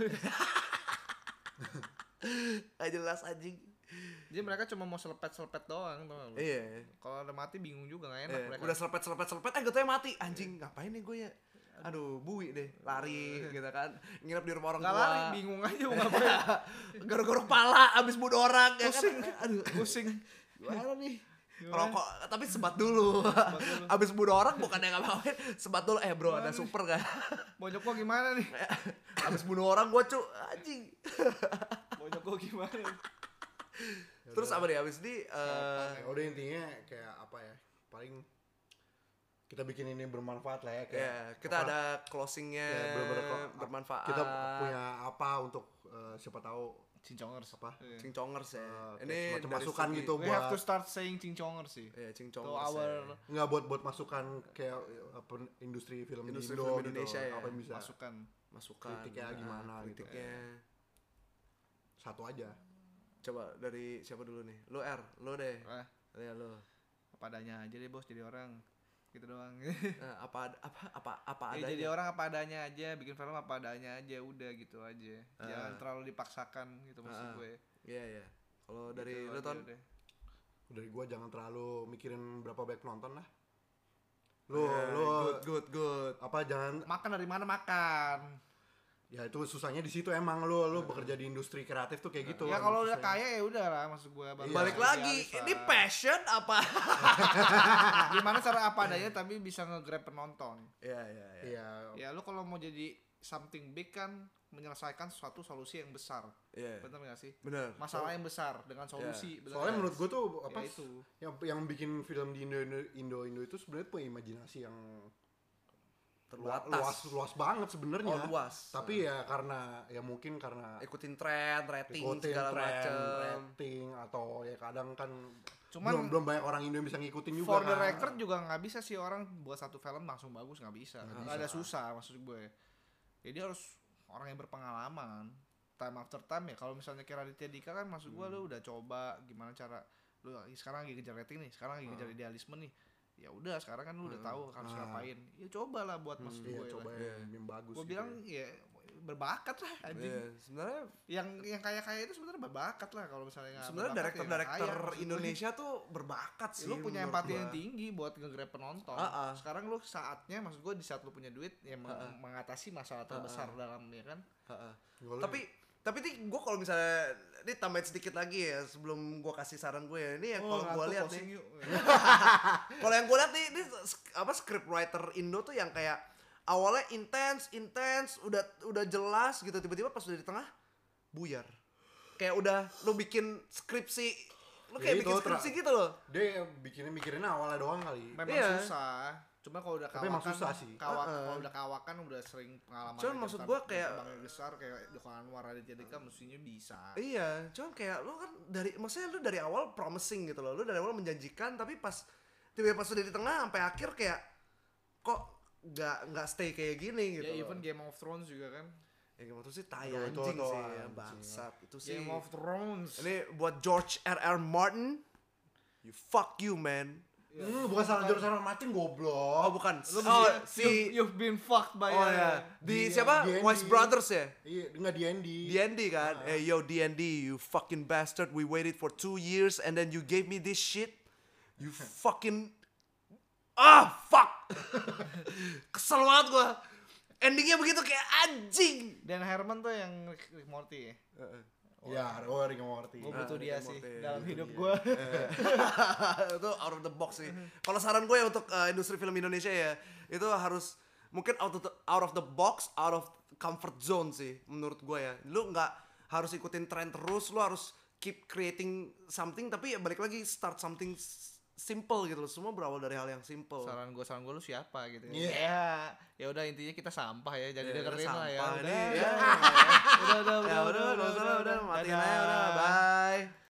Gak jelas anjing. Jadi mereka cuma mau selepet-selepet doang, tau gak lu? Iya. Kalau ada mati bingung juga, gak enak mereka. Udah selepet gue tuh mati anjing, ngapain nih gue ya, aduh bui deh, lari gitu kan, nginep di rumah orang Gak tua, lari, bingung aja mau ngapain. garuk-garuk pala abis bunuh orang ya Pusing. kan? Aduh Pusing. gimana nih, rokok tapi sebat dulu. Abis bunuh orang bukan yang ngapain, sebat dulu, bro ada super gak? Bonyok gua gimana nih? Abis bunuh orang gue anjing. Bonyok gua gimana? Terus apa nih abis ini Udah intinya kayak apa ya, paling kita bikin ini bermanfaat lah ya, kayak ya kita apa, ada closingnya ya, bener-bener bermanfaat, kita punya apa untuk siapa tahu Cincongers. apa cincongers ya, kayak ini semacam dari masukan segi- gitu We have to buat start saying cincongers sih. ya To cincongers our ya. nggak buat masukan kayak apa, industri film Industri di Indo film gitu, Indonesia ya. apa yang bisa masukan. masukan kritiknya gimana gitu. kritiknya. Satu aja. Coba dari siapa dulu nih, lo lo deh, Ah, ya lo. apa adanya aja deh bos, jadi orang gitu doang. Nah, apa Ya, adanya. jadi orang apa adanya aja, bikin film apa adanya aja, udah gitu aja. Jangan terlalu dipaksakan gitu maksud gue. Iya. Kalau dari Gitu lo aja Ton, udah. Dari gua jangan terlalu mikirin berapa banyak penonton lah. Lu good. apa jangan, Makan dari mana makan? ya itu susahnya di situ emang lu bekerja di industri kreatif tuh kayak gitu. Ya kalau udah kaya ya udah lah, maksud gue. Iya. Balik lagi, ini passion apa? Gimana cara apa adanya tapi bisa nge-grab penonton. Iya. Iya. Ya lu kalau mau jadi something big kan menyelesaikan suatu solusi yang besar. Iya. Bener gak sih? Bener. Masalah yang besar dengan solusi. bener Soalnya nggak? menurut gua tuh apa Ya itu. yang bikin film di Indo itu sebenarnya punya imajinasi yang luas banget sebenarnya. Oh, luas. Tapi ya karena ya mungkin karena Ikutin tren, rating ikutin segala tren, macam. rating atau ya kadang kan Cuman belum banyak orang Indo yang bisa ngikutin juga. for the kan. record juga nggak bisa sih orang buat satu film langsung bagus, nggak bisa. Nggak ada susah maksud gue. Jadi harus orang yang berpengalaman. time after time ya. Kalau misalnya kayak Raditya Dika kan maksud gua lu udah coba gimana cara lu sekarang lagi kejar rating nih, sekarang lagi kejar idealisme nih. Ya udah sekarang kan lu udah tahu harus ngapain. Ya cobalah buat maksud Iya, gue. coba yang bagus. Gue gitu bilang ya. ya berbakat lah anjing. Iya, sebenarnya Yang kaya itu sebenarnya berbakat lah kalau misalnya nggak sebenarnya berbakat ya nggak director-director kaya, maksud gue. Indonesia tuh berbakat sih. Ya, lu punya menurut empati gua. yang tinggi buat nge-grab penonton. Sekarang lu saatnya maksud gue di saat lu punya duit ya mengatasi masalah terbesar dalam ya kan. Gua Tapi nih gue kalau misalnya ini tambahin sedikit lagi ya sebelum gue kasih saran gue ya. Ini yang kalau gue lihat nih. Kalau yang gue lihat nih ini apa script writer Indo tuh yang kayak awalnya intens, udah jelas gitu, tiba-tiba pas udah di tengah buyar. Kayak udah lu bikin skripsi, lu kayak Ya bikin itu, skripsi gitu loh. dia mikirin awalnya doang kali. Memang Iya. susah. Cuma kalau udah Tapi emang kawakan, susah sih. kalau udah kawakan udah sering pengalaman. Cuman maksud gua kayak- Bang besar kayak Joko Anwar, Raditya Dika mestinya bisa. Iya, cuman kayak lu kan maksudnya lu dari awal promising gitu loh. Lu dari awal menjanjikan tapi pas tiba-tiba pas udah di tengah sampai akhir kayak kok nggak stay kayak gini gitu. Ya loh. even Game of Thrones juga kan. Ya Game of Thrones sih tai Aduh, itu anjing tuh sih, anjing. bangsat. Itu sih. Game of Thrones. Ini buat George R.R. Martin. Fuck you, man. Bukan salah George R. R. Martin goblok. Oh, bukan. Lu Oh, mesti- you've been fucked by Oh ya. Di siapa? D&D. Wise Brothers ya? Iya, enggak D&D. D&D kan? Hey yo D&D, you fucking bastard. We waited for 2 years and then you gave me this shit. You fucking fuck. Kesel banget gua. Endingnya begitu kayak anjing. Dan Herman tuh yang Rick Morty ya. Iya, Rick and Morty. Gue butuh Rick dia and sih Morty. dalam hidup gue. Itu out of the box sih. Kalau saran gue untuk industri film Indonesia ya, itu harus mungkin out of the box, out of comfort zone sih menurut gue ya. Lu nggak harus ikutin tren terus, lu harus keep creating something, tapi ya balik lagi start something simple gitu loh. Semua berawal dari hal yang simple. Saran gue lu siapa gitu. Iya. Ya udah intinya kita sampah ya, jadi Ya, dengerin udah lah ya. sampah udah. nih, ya. Udah, Ya udah, matiin aja udah. Bye.